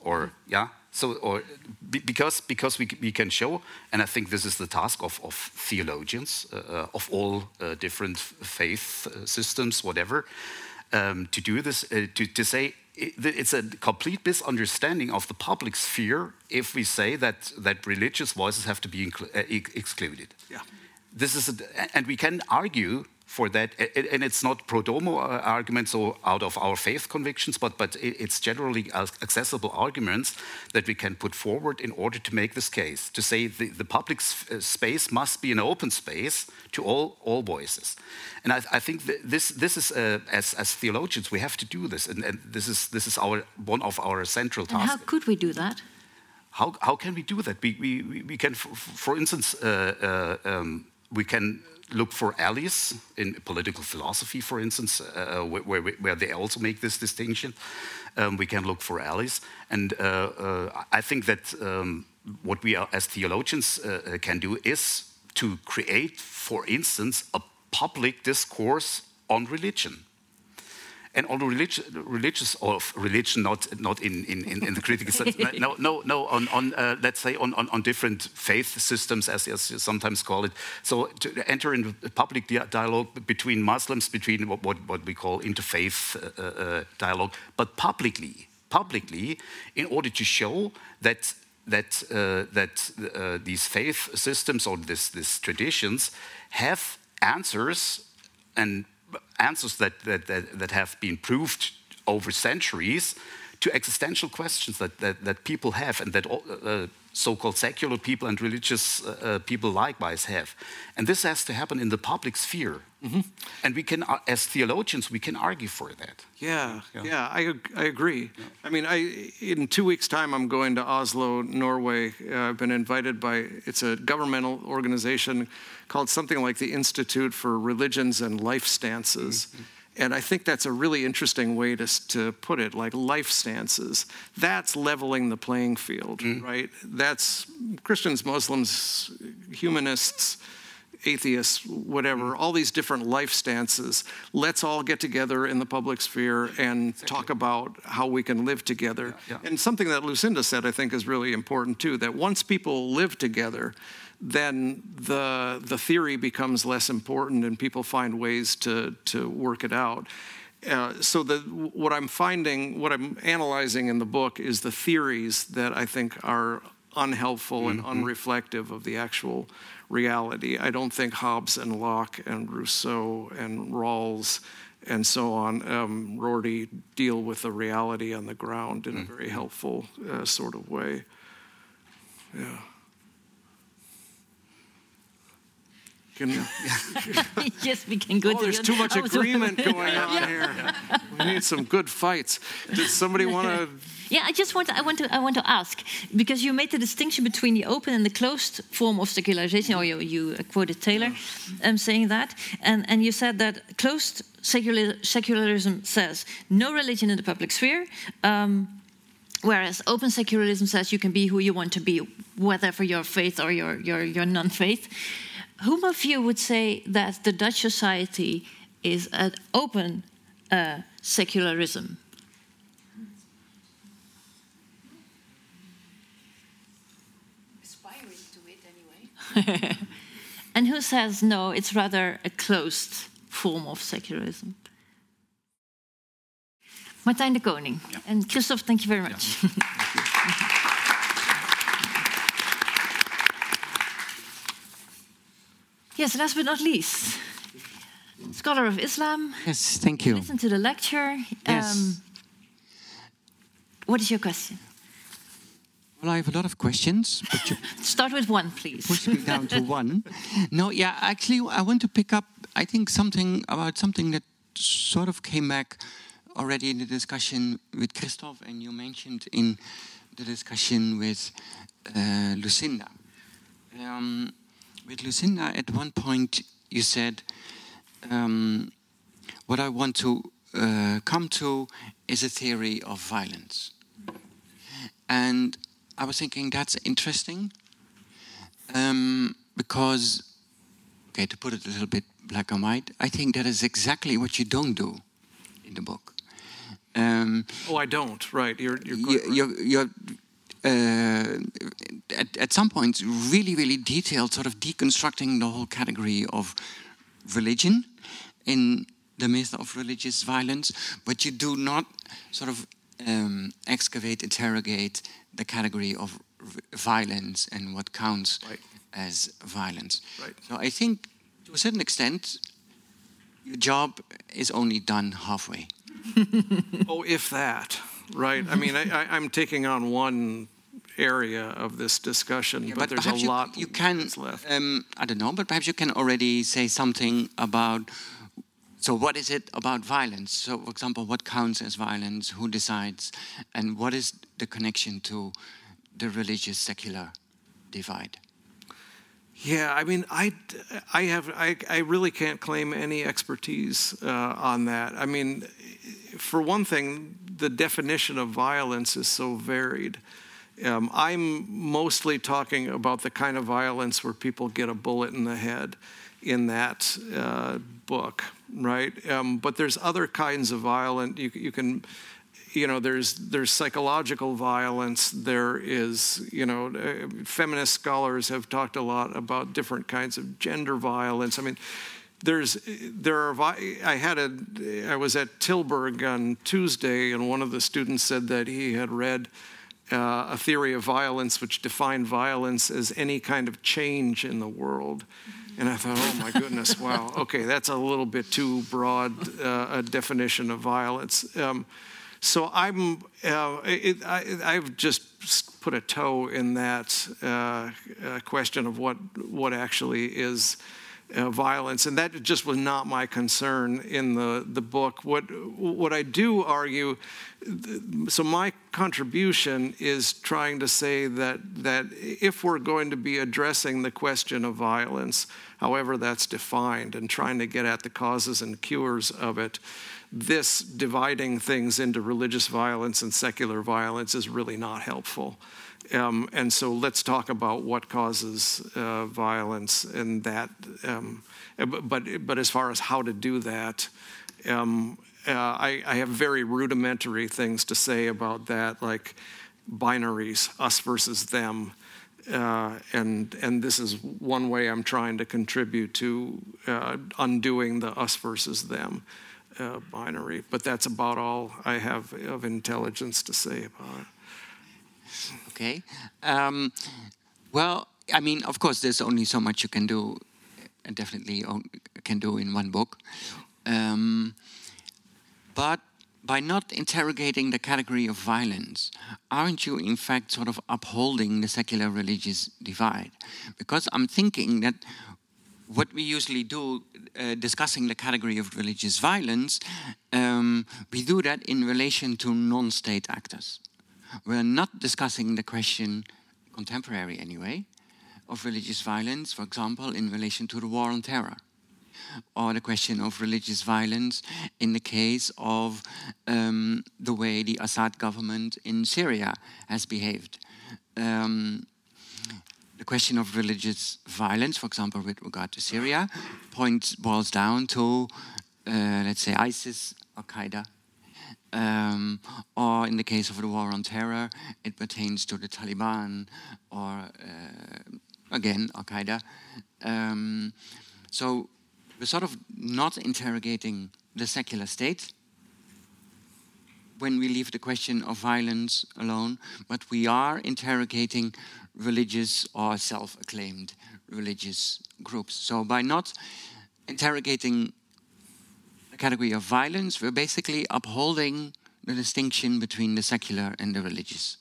because we can show, and I think this is the task of theologians of all different faith systems, whatever, to do this, to say it's a complete misunderstanding of the public sphere if we say that religious voices have to be excluded. This is, and we can argue for that, and it's not pro domo arguments or out of our faith convictions, but it's generally accessible arguments that we can put forward in order to make this case, to say the public space must be an open space to all voices. And I think this is, as theologians, we have to do this, and this is one of our central tasks. And how could we do that? How can we do that? We can, for instance, we can look for allies in political philosophy, for instance, where they also make this distinction. We can look for allies. And I think that what we are, as theologians can do is to create, for instance, a public discourse on religion. And on religion, not in the critical sense. No. On let's say on different faith systems, as you sometimes call it. So to enter in a public dialogue between Muslims, between what we call interfaith dialogue, but publicly, in order to show that these faith systems or these traditions have answers, and answers that have been proved over centuries to existential questions that people have, and that so-called secular people and religious people likewise have. And this has to happen in the public sphere. And we can, as theologians, we can argue for that. I agree. I mean, in 2 weeks' time, I'm going to Oslo, Norway. I've been invited by, it's a governmental organization called something like the Institute for Religions and Life Stances. And I think that's a really interesting way to put it, like life stances. That's leveling the playing field, right? That's Christians, Muslims, humanists, atheists, whatever, all these different life stances. Let's all get together in the public sphere and talk about how we can live together. And something that Lucinda said, I think, is really important too, that once people live together, then the theory becomes less important and people find ways to work it out. what I'm finding, what I'm analyzing in the book is the theories that I think are unhelpful and unreflective of the actual reality. I don't think Hobbes and Locke and Rousseau and Rawls and so on, Rorty, deal with the reality on the ground in a very helpful sort of way. Yeah. Yes, we can go to there's too much agreement going on here. We need some good fights. Does somebody want to? Yeah, I want to ask, because you made the distinction between the open and the closed form of secularization, or you quoted Taylor saying that, and you said that closed secularism says no religion in the public sphere, whereas open secularism says you can be who you want to be, whether for your faith or your non-faith. Whom of you would say that the Dutch society is an open secularism? Aspiring to it anyway. And who says no, it's rather a closed form of secularism? Martijn de Koning. Yeah. And Christoph, thank you very much. Yeah. Yes, last but not least, scholar of Islam. Yes, thank you. Listen to the lecture. Yes. What is your question? Well, I have a lot of questions, but you start with one, please. Push me down to one. No, yeah, actually, I want to pick up, I think, something that sort of came back already in the discussion with Christoph, and you mentioned in the discussion with Lucinda. With Lucinda, at one point, you said, what I want to come to is a theory of violence. And I was thinking that's interesting, because, okay, to put it a little bit black and white, I think that is exactly what you don't do in the book. I don't, right. You're at some point really, really detailed, sort of deconstructing the whole category of religion in the myth of religious violence, but you do not sort of excavate, interrogate the category of violence and what counts as violence. Right. So I think, to a certain extent, your job is only done halfway. If that, right? I mean, I'm taking on one area of this discussion, but there's a lot that's left. I don't know, but perhaps you can already say something about, so what is it about violence? So, for example, what counts as violence, who decides, and what is the connection to the religious-secular divide? Yeah, I mean, I really can't claim any expertise on that. I mean, for one thing, the definition of violence is so varied. I'm mostly talking about the kind of violence where people get a bullet in the head in that book, right? But there's other kinds of violence. You can, there's psychological violence. There is, feminist scholars have talked a lot about different kinds of gender violence. I mean, I was at Tilburg on Tuesday, and one of the students said that he had read a theory of violence which defined violence as any kind of change in the world. And I thought, oh my goodness, wow, okay, that's a little bit too broad a definition of violence. So I've just put a toe in that question of what actually is violence, and that just was not my concern in the book. What I do argue, so my contribution is trying to say that if we're going to be addressing the question of violence, however that's defined, and trying to get at the causes and cures of it, this dividing things into religious violence and secular violence is really not helpful. And so let's talk about what causes violence and that. But as far as how to do that, I have very rudimentary things to say about that, like binaries, us versus them. And this is one way I'm trying to contribute to undoing the us versus them binary. But that's about all I have of intelligence to say about it. Okay. Well, I mean, of course, there's only so much you can do, and definitely can do in one book. But by not interrogating the category of violence, aren't you in fact sort of upholding the secular religious divide? Because I'm thinking that what we usually do, discussing the category of religious violence, we do that in relation to non-state actors. We're not discussing the question, contemporary anyway, of religious violence, for example, in relation to the war on terror, or the question of religious violence in the case of the way the Assad government in Syria has behaved. The question of religious violence, for example, with regard to Syria, boils down to, let's say, ISIS, Al-Qaeda, or in the case of the war on terror, it pertains to the Taliban, or again, Al-Qaeda. So we're sort of not interrogating the secular state when we leave the question of violence alone, but we are interrogating religious or self-acclaimed religious groups. So by not interrogating the category of violence, we're basically upholding the distinction between the secular and the religious.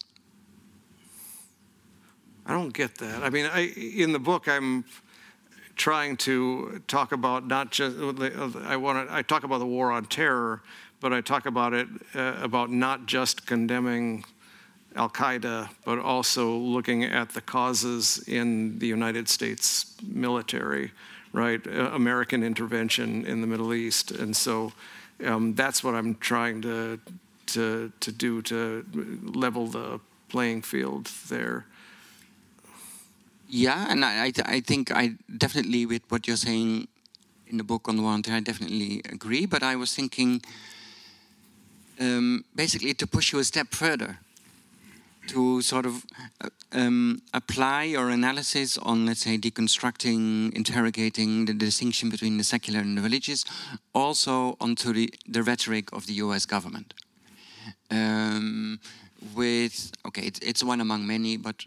I don't get that. I mean, in the book, I'm trying to talk about not just I talk about the war on terror, but I talk about it about not just condemning Al-Qaeda, but also looking at the causes in the United States military, right? American intervention in the Middle East, and so that's what I'm trying to do to level the playing field there. Yeah, and I think I definitely, with what you're saying in the book on the war on terror, I definitely agree. But I was thinking, basically, to push you a step further, to sort of apply your analysis on, let's say, deconstructing, interrogating the distinction between the secular and the religious, also onto the rhetoric of the U.S. government. It's one among many, but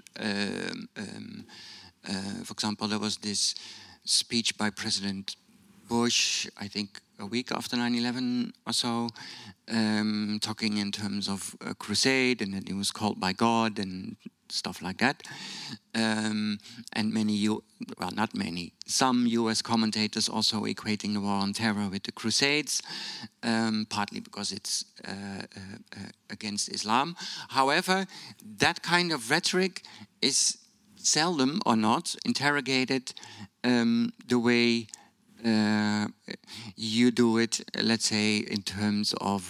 for example, there was this speech by President Bush, I think a week after 9/11 or so, talking in terms of a crusade, and that he was called by God and stuff like that. And some US commentators also equating the war on terror with the Crusades, partly because it's against Islam. However, that kind of rhetoric is seldom or not interrogated the way you do it, let's say, in terms of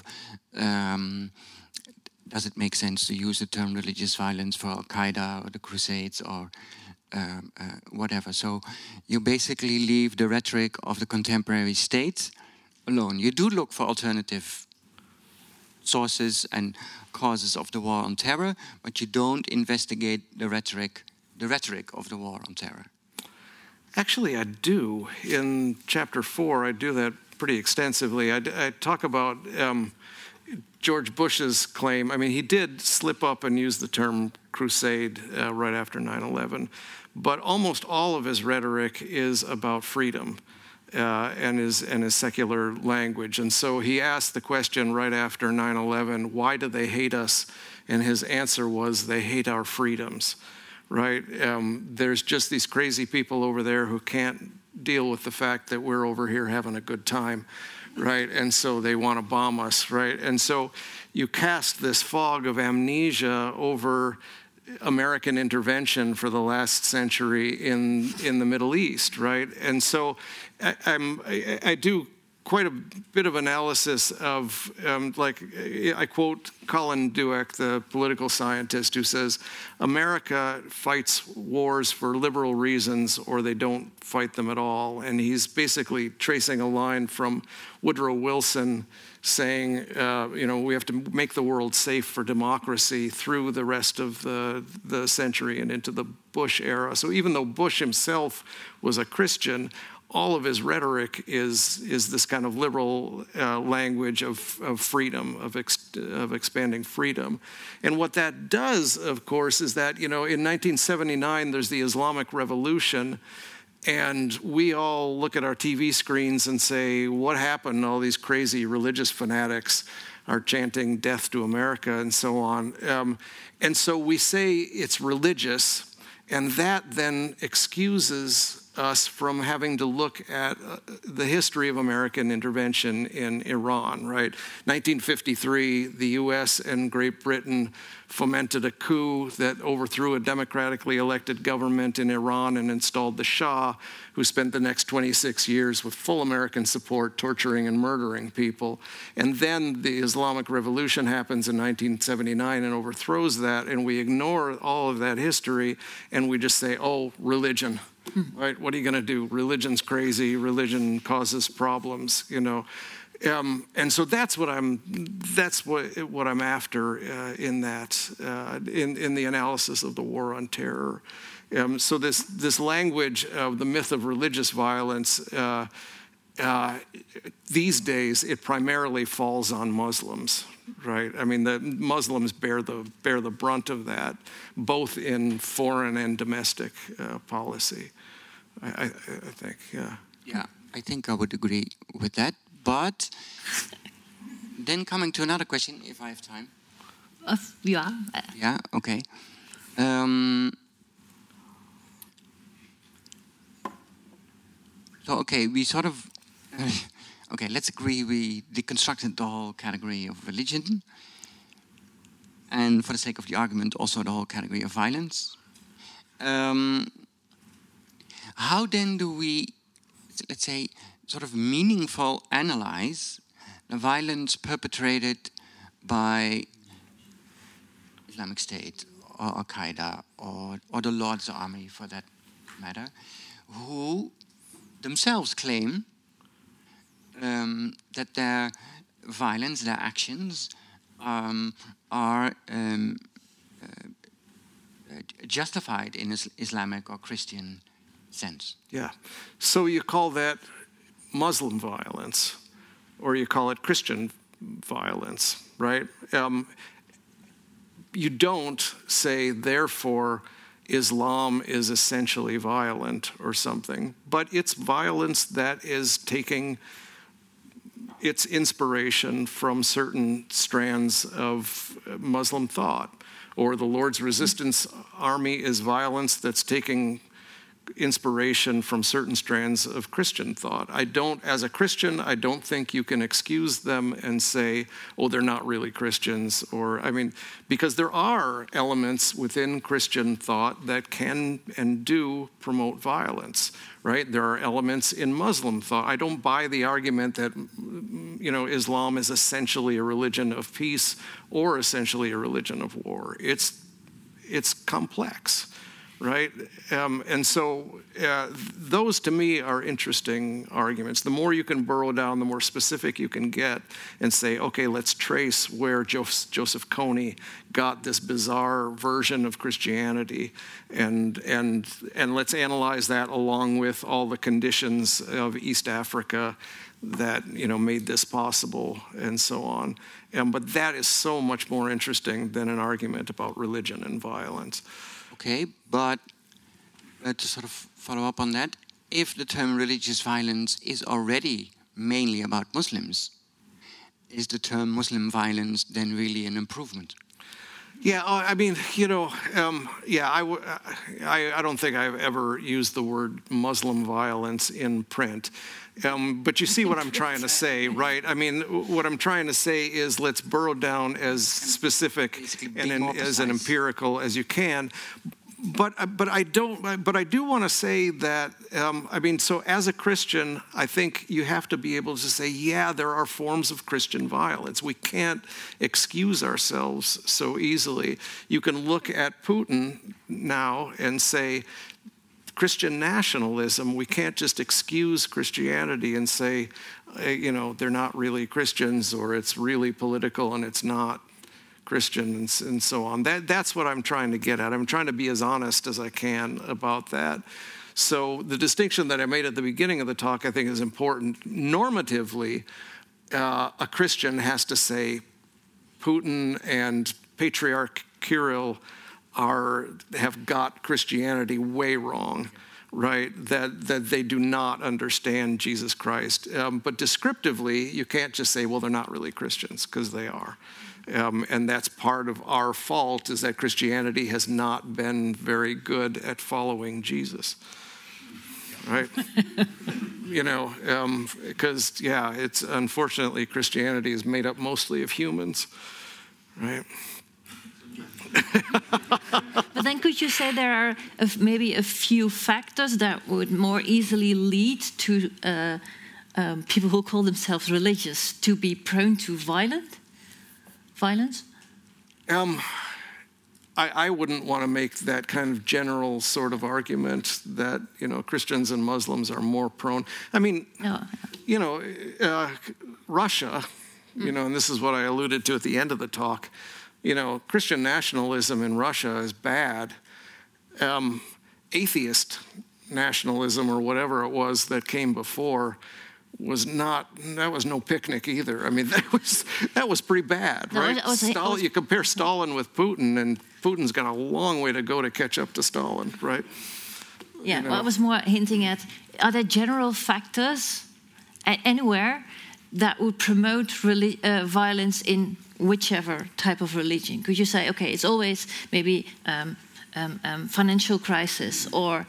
does it make sense to use the term religious violence for Al-Qaeda or the Crusades or whatever. So you basically leave the rhetoric of the contemporary state alone. You do look for alternative sources and causes of the war on terror, but you don't investigate the rhetoric of the war on terror. Actually, I do. In chapter 4, I do that pretty extensively. I talk about George Bush's claim. I mean, he did slip up and use the term crusade right after 9/11, but almost all of his rhetoric is about freedom and his secular language. And so he asked the question right after 9/11, why do they hate us? And his answer was, they hate our freedoms. Right? There's just these crazy people over there who can't deal with the fact that we're over here having a good time, right? And so they want to bomb us, right? And so you cast this fog of amnesia over American intervention for the last century in the Middle East, right? And so I do quite a bit of analysis of, I quote Colin Dweck, the political scientist, who says, America fights wars for liberal reasons or they don't fight them at all. And he's basically tracing a line from Woodrow Wilson saying, we have to make the world safe for democracy through the rest of the century and into the Bush era. So even though Bush himself was a Christian, all of his rhetoric is this kind of liberal language of freedom, of expanding freedom. And what that does, of course, is that, in 1979, there's the Islamic Revolution, and we all look at our TV screens and say, what happened? All these crazy religious fanatics are chanting death to America and so on. And so we say it's religious, and that then excuses us from having to look at the history of American intervention in Iran, right? 1953, the US and Great Britain fomented a coup that overthrew a democratically elected government in Iran and installed the Shah, who spent the next 26 years with full American support torturing and murdering people. And then the Islamic Revolution happens in 1979 and overthrows that, and we ignore all of that history and we just say, oh, religion. Right? What are you going to do? Religion's crazy. Religion causes problems. And so that's what I'm after in that in the analysis of the war on terror. So this language of the myth of religious violence these days it primarily falls on Muslims. Right. I mean, the Muslims bear the brunt of that, both in foreign and domestic policy. I think, yeah. Yeah, I think I would agree with that. But then coming to another question, if I have time. Yeah. Yeah. Okay. So okay, we sort of. Okay, let's agree we deconstructed the whole category of religion, and for the sake of the argument, also the whole category of violence. How then do we, let's say, sort of meaningful analyze the violence perpetrated by Islamic State or Al-Qaeda or the Lord's Army, for that matter, who themselves claim that their violence, their actions, are justified in Islamic or Christian sense. Yeah. So you call that Muslim violence, or you call it Christian violence, right? You don't say, therefore, Islam is essentially violent or something, but it's violence that is taking its inspiration from certain strands of Muslim thought. Or the Lord's Resistance Army is violence that's taking inspiration from certain strands of Christian thought. As a Christian, I don't think you can excuse them and say, oh, they're not really Christians, because there are elements within Christian thought that can and do promote violence, right? There are elements in Muslim thought. I don't buy the argument that, Islam is essentially a religion of peace or essentially a religion of war. It's complex. Right? And so those to me are interesting arguments. The more you can burrow down, the more specific you can get and say, okay, let's trace where Joseph Kony got this bizarre version of Christianity and let's analyze that along with all the conditions of East Africa that made this possible and so on. But that is so much more interesting than an argument about religion and violence. Okay, but to sort of follow up on that, if the term religious violence is already mainly about Muslims, is the term Muslim violence then really an improvement? Yeah, I don't think I've ever used the word Muslim violence in print. But you see what I'm trying to say, right? I mean, what I'm trying to say is let's burrow down as specific and as an empirical as you can. But I do want to say that so as a Christian, I think you have to be able to say, yeah, there are forms of Christian violence. We can't excuse ourselves so easily. You can look at Putin now and say, Christian nationalism, we can't just excuse Christianity and say, they're not really Christians, or it's really political and it's not Christian and so on. That's what I'm trying to get at. I'm trying to be as honest as I can about that. So the distinction that I made at the beginning of the talk, I think, is important. Normatively, a Christian has to say Putin and Patriarch Kirill have got Christianity way wrong, right? That they do not understand Jesus Christ. But descriptively, you can't just say, well, they're not really Christians, because they are. And that's part of our fault, is that Christianity has not been very good at following Jesus, right? Because, it's unfortunately Christianity is made up mostly of humans, right? But then could you say there are maybe a few factors that would more easily lead to people who call themselves religious to be prone to violence? I wouldn't want to make that kind of general sort of argument that, Christians and Muslims are more prone. I mean, Russia, and this is what I alluded to at the end of the talk, Christian nationalism in Russia is bad. Atheist nationalism, or whatever it was that came before, was no picnic either. I mean, that was pretty bad, right? You compare Stalin with Putin, and Putin's got a long way to go to catch up to Stalin, right? Yeah, well, I was more hinting at, are there general factors anywhere that would promote violence in whichever type of religion? Could you say, okay, it's always maybe financial crisis or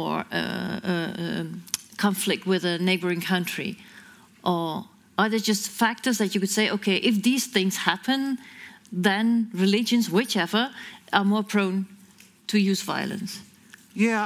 conflict with a neighboring country? Or are there just factors that you could say, okay, if these things happen, then religions, whichever, are more prone to use violence? Yeah,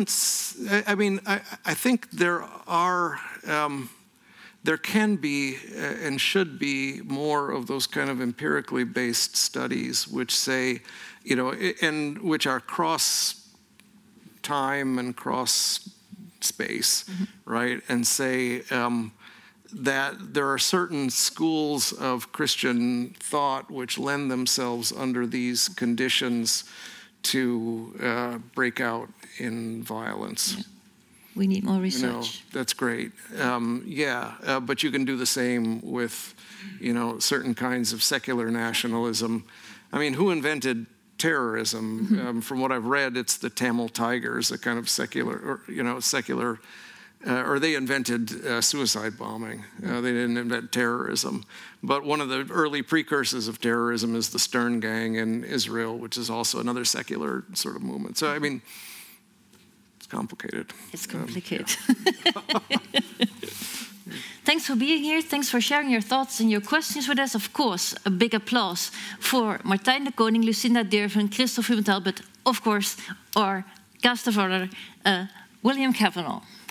I think there are, there can be and should be more of those kind of empirically based studies which say, and which are cross time and cross space, right? And say that there are certain schools of Christian thought which lend themselves under these conditions to break out in violence. Yeah. We need more research. That's great. But you can do the same with, certain kinds of secular nationalism. I mean, who invented terrorism? From what I've read, it's the Tamil Tigers, a kind of secular, or they invented suicide bombing. They didn't invent terrorism. But one of the early precursors of terrorism is the Stern Gang in Israel, which is also another secular sort of movement. So, I mean, it's complicated. It's complicated. Thanks for being here. Thanks for sharing your thoughts and your questions with us. Of course, a big applause for Martijn de Koning, Lucinda Deerven, Christophe Humentel, but of course, our guest of honor, William Cavanaugh.